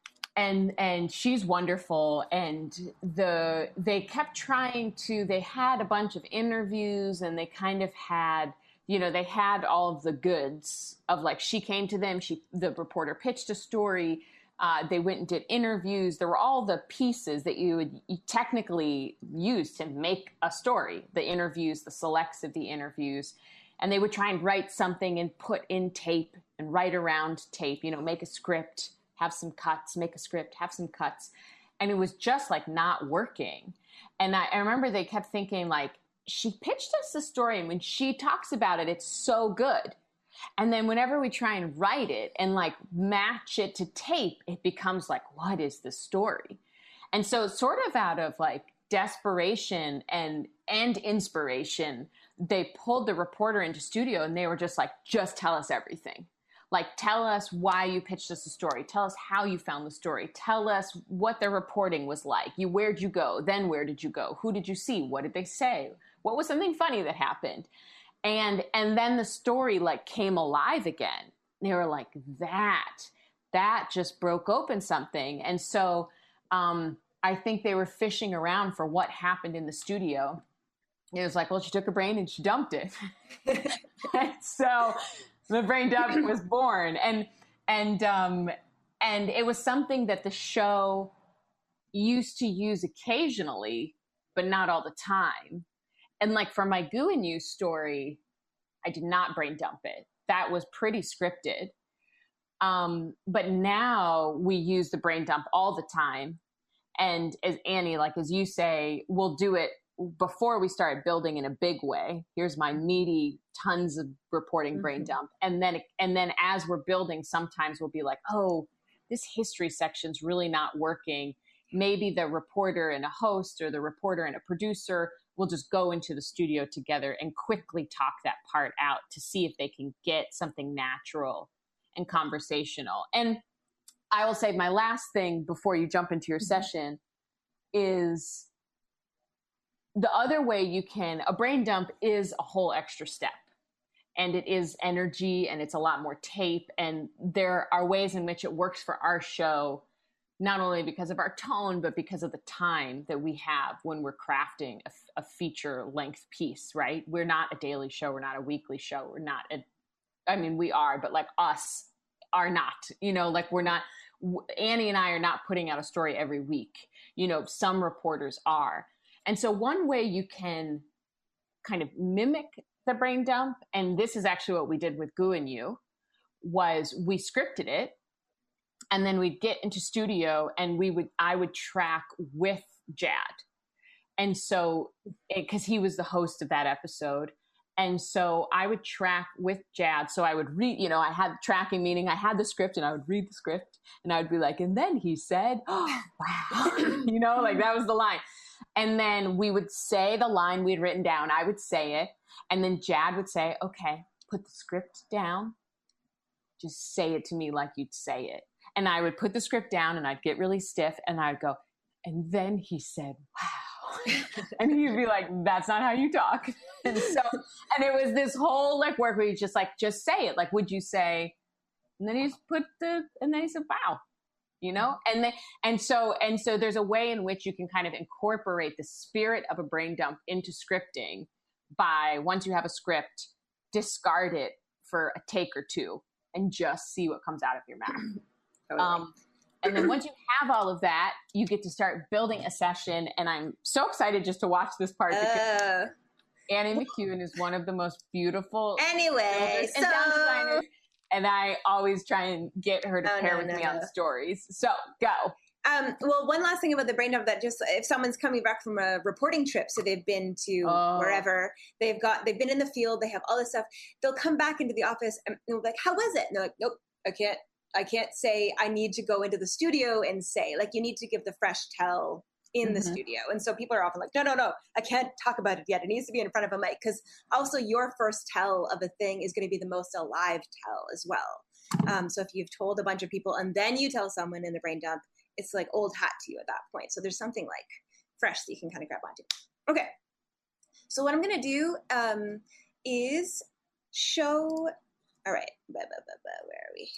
and she's wonderful. And they kept trying to, they had a bunch of interviews and they kind of had, they had all of the goods of like, she came to them, the reporter pitched a story. They went and did interviews. There were all the pieces that you would technically use to make a story, the interviews, the selects of the interviews. And they would try and write something and put in tape and write around tape, make a script, have some cuts, make a script, have some cuts. And it was just like not working. And I remember they kept thinking like, she pitched us the story and when she talks about it, it's so good. And then whenever we try and write it and like match it to tape, it becomes like, what is the story? And so sort of out of like desperation and inspiration, they pulled the reporter into studio and they were just like, just tell us everything. Like, tell us why you pitched us a story. Tell us how you found the story. Tell us what their reporting was like. Where'd you go? Then where did you go? Who did you see? What did they say? What was something funny that happened? And then the story like came alive again. They were like, that just broke open something. And so I think they were fishing around for what happened in the studio. It was like, well, she took her brain and she dumped it. And so the brain dump was born. And it was something that the show used to use occasionally, but not all the time. And like for my Goo and You story, I did not brain dump it. That was pretty scripted. But now we use the brain dump all the time. And as Annie, like as you say, we'll do it before we start building in a big way. Here's my meaty, tons of reporting brain dump. And then as we're building, sometimes we'll be like, oh, this history section's really not working. Maybe the reporter and a host or the reporter and a producer will just go into the studio together and quickly talk that part out to see if they can get something natural and conversational. And I will say my last thing before you jump into your session is the other way a brain dump is a whole extra step. And it is energy and it's a lot more tape. And there are ways in which it works for our show, not only because of our tone, but because of the time that we have when we're crafting a feature length piece, right? We're not a daily show. We're not a weekly show. We are, but like us are not, like we're not, Annie and I are not putting out a story every week. Some reporters are. And so one way you can kind of mimic the brain dump, and this is actually what we did with Goo and You, was we scripted it. And then we'd get into studio and I would track with Jad. And so, because he was the host of that episode. And so I would track with Jad. So I would read, I had tracking, meaning I had the script and I would read the script and I would be like, and then he said, oh, wow, like that was the line. And then we would say the line we'd written down. I would say it. And then Jad would say, okay, put the script down. Just say it to me like you'd say it. And I would put the script down and I'd get really stiff and I'd go, and then he said, wow. And he'd be like, that's not how you talk. And it was this whole like work where you just say it. Like, would you say, and then he said, wow, and so there's a way in which you can kind of incorporate the spirit of a brain dump into scripting by, once you have a script, discard it for a take or two and just see what comes out of your mouth. Totally. And then once you have all of that, you get to start building a session. And I'm so excited just to watch this part because Annie McEwen is one of the most beautiful builders and sound designers. And I always try and get her to pair with me on stories. So go. Well, one last thing about the brain dump, that just if someone's coming back from a reporting trip, so they've been to wherever, they've been in the field, they have all this stuff, they'll come back into the office and they'll be like, how was it? And they're like, nope, I can't say. I need to go into the studio and say, like, you need to give the fresh tell in the studio. And so people are often like, no, I can't talk about it yet. It needs to be in front of a mic, because also your first tell of a thing is going to be the most alive tell as well. So if you've told a bunch of people and then you tell someone in the brain dump, it's like old hat to you at that point. So there's something like fresh that you can kind of grab onto. Okay. So what I'm going to do is show, all right, where are we?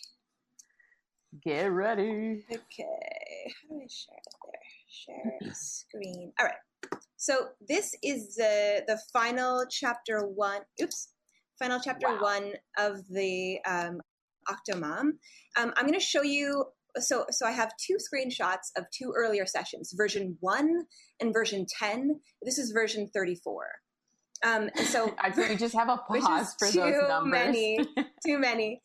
Get ready. Okay. How do I share it there? Share screen. All right. So this is the final chapter one. Final chapter one of the Octomom. I'm going to show you. So I have two screenshots of two earlier sessions, version 1 and version 10. This is version 34. So I think we just have a pause for those numbers. Too many.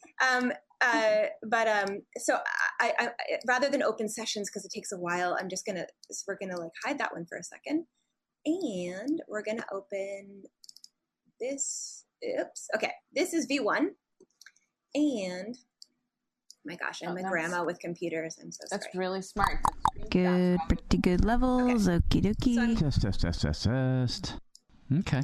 So I rather than open sessions, because it takes a while, we're gonna like hide that one for a second, and we're gonna open this. Okay, this is V1, and my gosh, I'm a grandma with computers. I'm so sorry. That's really smart. Good, pretty good levels. Okay. Okie dokie. Test. Okay.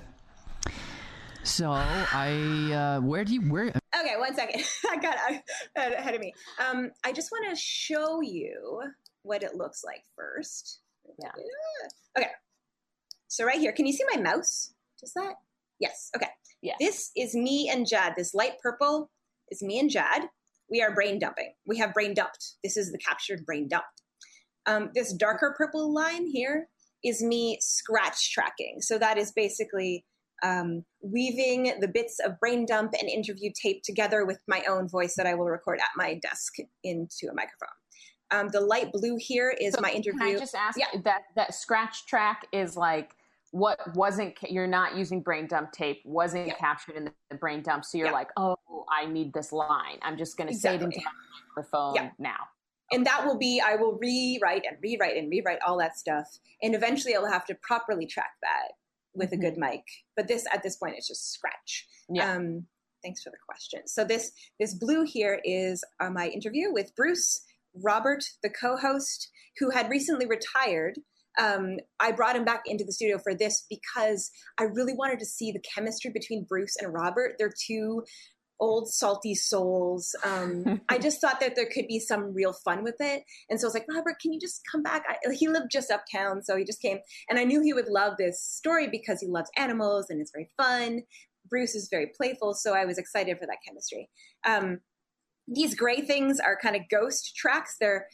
So where? Okay, 1 second. I got ahead of me. I just want to show you what it looks like first. Yeah. Okay. So right here, can you see my mouse? Does that? Yes. Okay. Yeah. This is me and Jad. This light purple is me and Jad. We are brain dumping. We have brain dumped. This is the captured brain dump. This darker purple line here is me scratch tracking. So that is basically weaving the bits of brain dump and interview tape together with my own voice that I will record at my desk into a microphone. The light blue here is my interview. Can I just ask that scratch track is like what wasn't, you're not using brain dump tape, wasn't captured in the brain dump. So you're like, oh, I need this line. I'm just going to say it into my microphone now. And that will be, I will rewrite all that stuff. And eventually I will have to properly track that with a good mic. But at this point, it's just scratch. Yeah. Thanks for the question. So this blue here is my interview with Bruce, Robert, the co-host, who had recently retired. I brought him back into the studio for this because I really wanted to see the chemistry between Bruce and Robert. They're two old salty souls. I just thought that there could be some real fun with it. And so I was like, Robert, can you just come back? He lived just uptown, so he just came. And I knew he would love this story because he loves animals and it's very fun. Bruce is very playful, so I was excited for that chemistry. These gray things are kind of ghost tracks. They're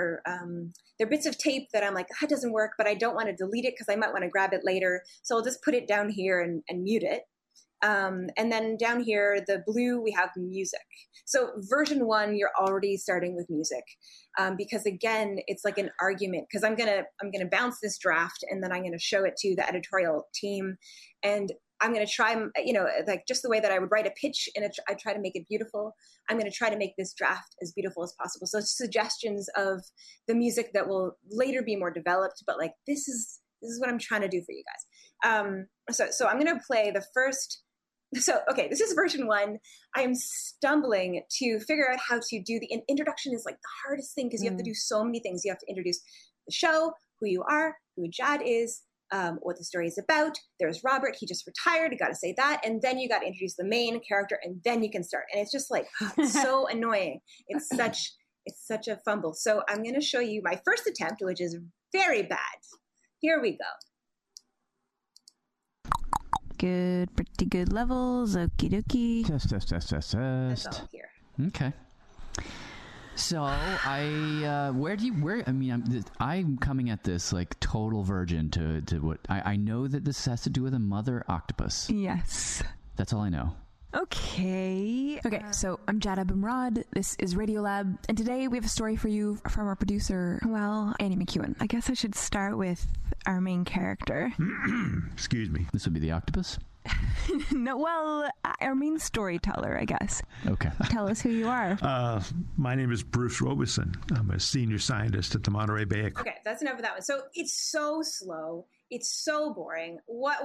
bits of tape that I'm like, that doesn't work, but I don't want to delete it because I might want to grab it later. So I'll just put it down here and mute it. And then down here, the blue, we have music. So version 1, you're already starting with music, because again, it's like an argument. Because I'm gonna bounce this draft, and then I'm gonna show it to the editorial team, and I'm gonna try, like just the way that I would write a pitch, and I try to make it beautiful. I'm gonna try to make this draft as beautiful as possible. So suggestions of the music that will later be more developed, but like this is what I'm trying to do for you guys. So I'm gonna play the first So, okay, this is version 1. I am stumbling to figure out how to do the introduction is like the hardest thing because you have to do so many things. You have to introduce the show, who you are, who Jad is, what the story is about. There's Robert. He just retired. You got to say that. And then you got to introduce the main character and then you can start. And it's just like so annoying. It's such a fumble. So I'm going to show you my first attempt, which is very bad. Here we go. Good, pretty good levels. Okie dokie. Test. That's all here. Okay. So I'm coming at this like total virgin to what I know that this has to do with a mother octopus. Yes. That's all I know. Okay, so I'm Jad Abumrad. This is Radiolab, and today we have a story for you from our producer, Annie McEwen. I guess I should start with our main character. Excuse me. This would be the octopus? No, our main storyteller, I guess. Okay. Tell us who you are. My name is Bruce Robeson. I'm a senior scientist at the Monterey Bay Aquarium. Okay, that's enough of that one. So it's so slow. It's so boring.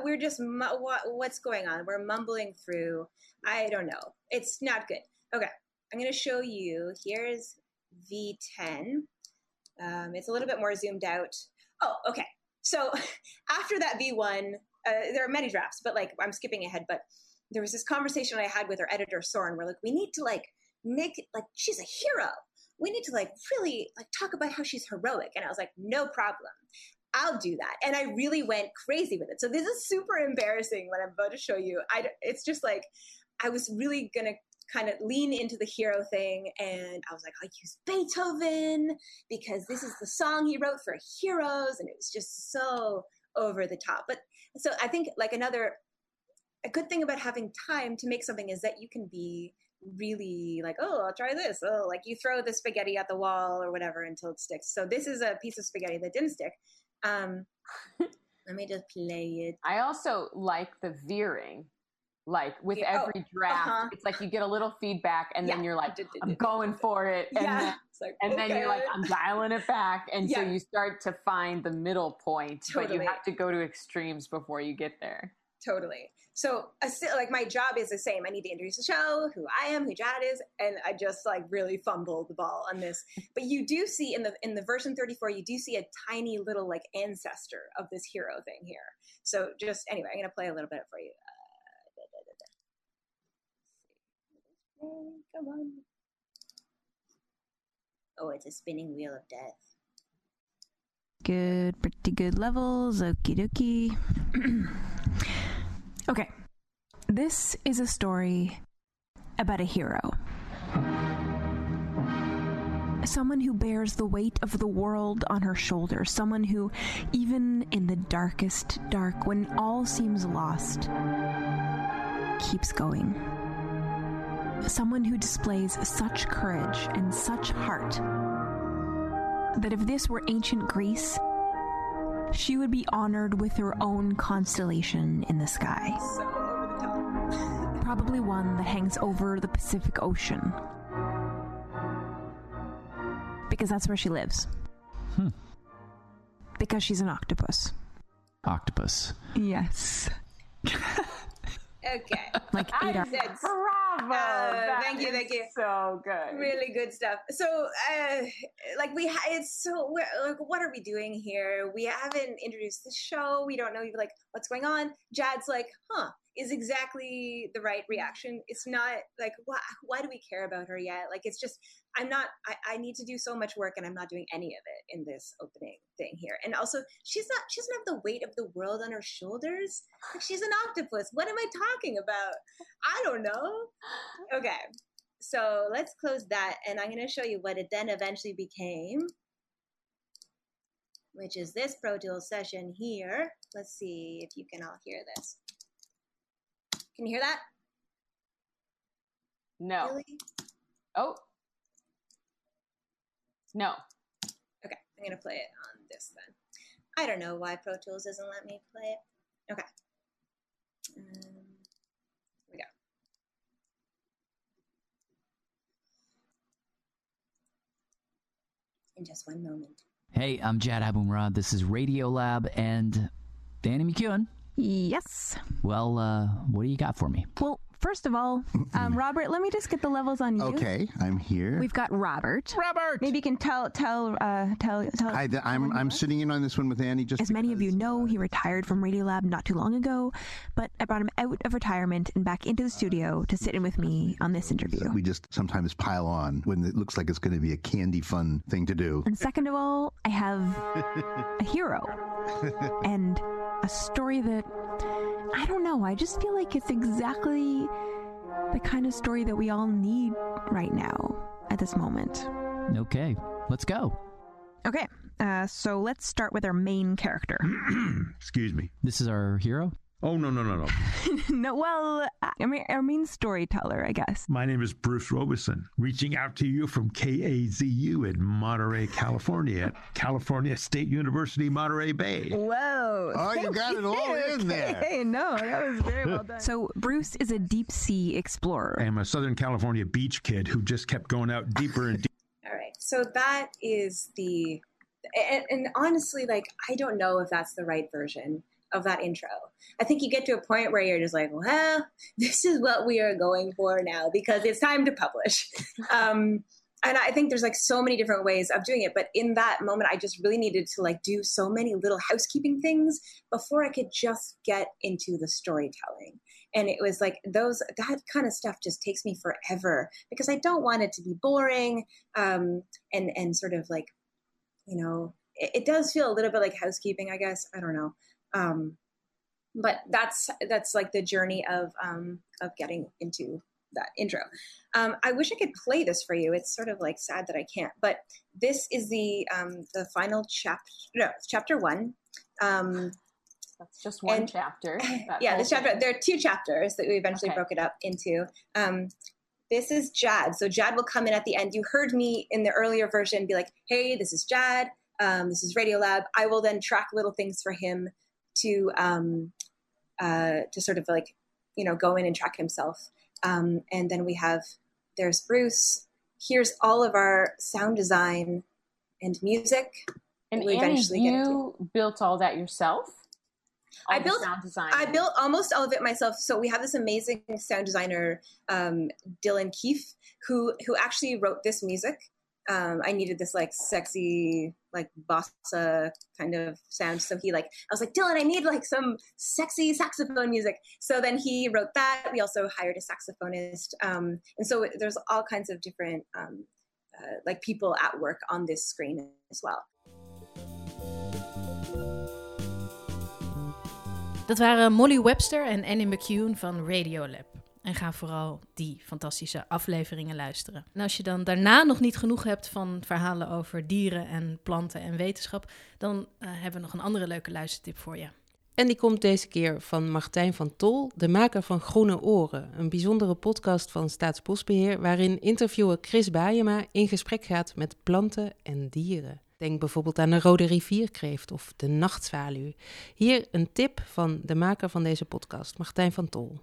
What's going on? We're mumbling through. I don't know. It's not good. Okay, I'm going to show you. Here's V10. It's a little bit more zoomed out. Oh, okay. So after that V1, there are many drafts, but like I'm skipping ahead. But there was this conversation I had with our editor Soren. We're like, we need to like make it like she's a hero. We need to like really like talk about how she's heroic. And I was like, no problem. I'll do that. And I really went crazy with it. So this is super embarrassing what I'm about to show you. It's just like, I was really going to kind of lean into the hero thing. And I was like, I'll use Beethoven because this is the song he wrote for heroes. And it was just so over the top. But so I think like a good thing about having time to make something is that you can be really like, oh, I'll try this. Oh, like you throw the spaghetti at the wall or whatever until it sticks. So this is a piece of spaghetti that didn't stick. Let me just play it. I also like the veering. Like with every draft, it's like you get a little feedback and then you're like, I'm going for it. And then you're like, I'm dialing it back. And so you start to find the middle point, but you have to go to extremes before you get there. Totally. So like my job is the same. I need to introduce the show, who I am, who Jad is, and I just like really fumbled the ball on this. But you do see in the version 34, you do see a tiny little like ancestor of this hero thing here. So just anyway, I'm gonna play a little bit for you. Come on. Oh, it's a spinning wheel of death. Good, pretty good levels. Okie dokie. Okay, this is a story about a hero. Someone who bears the weight of the world on her shoulders. Someone who, even in the darkest dark, when all seems lost, keeps going. Someone who displays such courage and such heart that if this were ancient Greece, she would be honored with her own constellation in the sky. So over the top. Probably one that hangs over the Pacific Ocean. Because that's where she lives. Because she's an octopus. Octopus. Yes. Okay. Like 8 hours. Bravo! Thank you. So good. Really good stuff. So, what are we doing here? We haven't introduced the show. We don't know like what's going on. Jad's like, is exactly the right reaction. It's not like, why do we care about her yet? Like, it's just, I need to do so much work and I'm not doing any of it in this opening thing here. And also, she doesn't have the weight of the world on her shoulders. Like, she's an octopus. What am I talking about? I don't know. Okay. So let's close that. And I'm going to show you what it then eventually became, which is this Pro Tools session here. Let's see if you can all hear this. Can you hear that? No. Really? Oh. No. Okay, I'm going to play it on this then. I don't know why Pro Tools doesn't let me play it. Okay. Here we go. In just one moment. Hey, I'm Jad Abumrad. This is Radiolab and Annie McEwen. Yes. Well, what do you got for me? Well, first of all, Robert, let me just get the levels on you. Okay, I'm here. We've got Robert. Maybe you can tell. Hi, I'm sitting in on this one with Annie. Just as many of you know, he retired from Radiolab not too long ago, but I brought him out of retirement and back into the studio to sit in with me on this interview. We just sometimes pile on when it looks like it's going to be a candy fun thing to do. And second of all, I have a hero and a story that, I don't know, I just feel like it's exactly the kind of story that we all need right now at this moment. Okay, let's go. Okay, so let's start with our main character. Excuse me. This is our hero? Oh, no. No, well, our main storyteller, I guess. My name is Bruce Robeson, reaching out to you from KAZU in Monterey, California, at California State University, Monterey Bay. Whoa. Oh, you got it all in there. Hey, no, that was very well done. So Bruce is a deep sea explorer. I am a Southern California beach kid who just kept going out deeper and deeper. All right. So that is and honestly, like, I don't know if that's the right version of that intro. I think you get to a point where you're just like, well, this is what we are going for now because it's time to publish. And I think there's like so many different ways of doing it. But in that moment, I just really needed to like do so many little housekeeping things before I could just get into the storytelling. And it was like that kind of stuff just takes me forever because I don't want it to be boring and sort of like, you know, it does feel a little bit like housekeeping, I guess. I don't know. But that's like the journey of getting into that intro. I wish I could play this for you. It's sort of like sad that I can't, but this is the final chapter. No, it's chapter 1. That's just one chapter. Yeah, this chapter. There are 2 chapters that we eventually broke it up into. This is Jad. So Jad will come in at the end. You heard me in the earlier version be like, hey, this is Jad. This is Radiolab. I will then track little things for him to sort of like, you know, go in and track himself. And then there's Bruce. Here's all of our sound design and music. And Annie, you built all that yourself? I built almost all of it myself. So we have this amazing sound designer, Dylan Keefe, who actually wrote this music. I needed this like sexy, like bossa kind of sound. So I was like, Dylan, I need like some sexy saxophone music. So then he wrote that. We also hired a saxophonist. And so there's all kinds of different like people at work on this screen as well. Dat waren Molly Webster en Annie McEwen van Radiolab. En ga vooral die fantastische afleveringen luisteren. En als je dan daarna nog niet genoeg hebt van verhalen over dieren en planten en wetenschap, dan hebben we nog een andere leuke luistertip voor je. En die komt deze keer van Martijn van Tol, de maker van Groene Oren. Een bijzondere podcast van Staatsbosbeheer waarin interviewer Chris Bajema in gesprek gaat met planten en dieren. Denk bijvoorbeeld aan de rode rivierkreeft of de nachtzwaluw. Hier een tip van de maker van deze podcast, Martijn van Tol.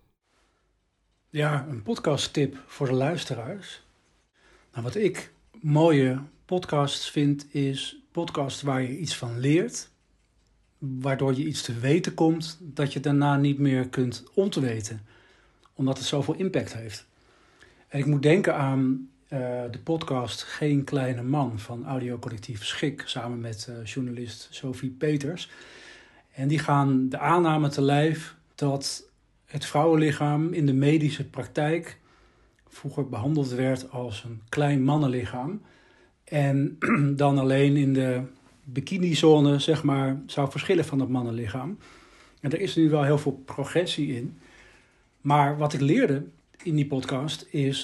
Ja, een podcasttip voor de luisteraars. Nou, wat ik mooie podcasts vind, is podcasts waar je iets van leert, waardoor je iets te weten komt dat je daarna niet meer kunt ontweten, omdat het zoveel impact heeft. En ik moet denken aan de podcast Geen Kleine Man van audiocollectief Schik, samen met journalist Sophie Peters. En die gaan de aanname te lijf dat het vrouwenlichaam in de medische praktijk vroeger behandeld werd als een klein mannenlichaam. En dan alleen in de bikinizone, zeg maar, zou verschillen van het mannenlichaam. En er is nu wel heel veel progressie in. Maar wat ik leerde in die podcast is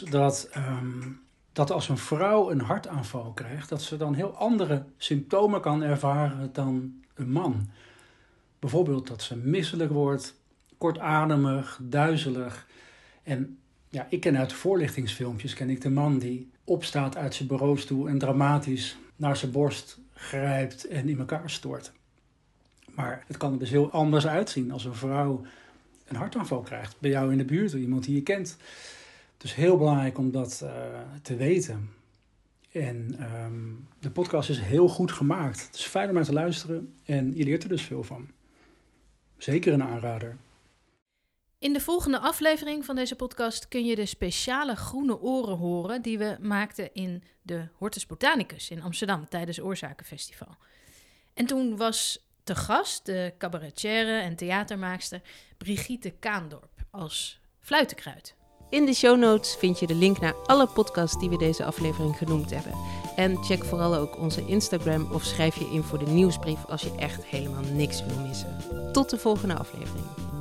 dat als een vrouw een hartaanval krijgt, dat ze dan heel andere symptomen kan ervaren dan een man. Bijvoorbeeld dat ze misselijk wordt, kortademig, duizelig. En ja, ik ken uit voorlichtingsfilmpjes, ken ik de man die opstaat uit zijn bureaustoel en dramatisch naar zijn borst grijpt en in elkaar stort. Maar het kan er dus heel anders uitzien als een vrouw een hartaanval krijgt bij jou in de buurt, iemand die je kent. Dus heel belangrijk om dat te weten. En de podcast is heel goed gemaakt. Het is fijn om naar te luisteren en je leert er dus veel van. zeker een aanrader. In de volgende aflevering van deze podcast kun je de speciale groene oren horen die we maakten in de Hortus Botanicus in Amsterdam tijdens Oorzakenfestival. En toen was te gast de cabaretière en theatermaakster Brigitte Kaandorp als fluitenkruid. In de show notes vind je de link naar alle podcasts die we deze aflevering genoemd hebben. En check vooral ook onze Instagram of schrijf je in voor de nieuwsbrief als je echt helemaal niks wil missen. Tot de volgende aflevering.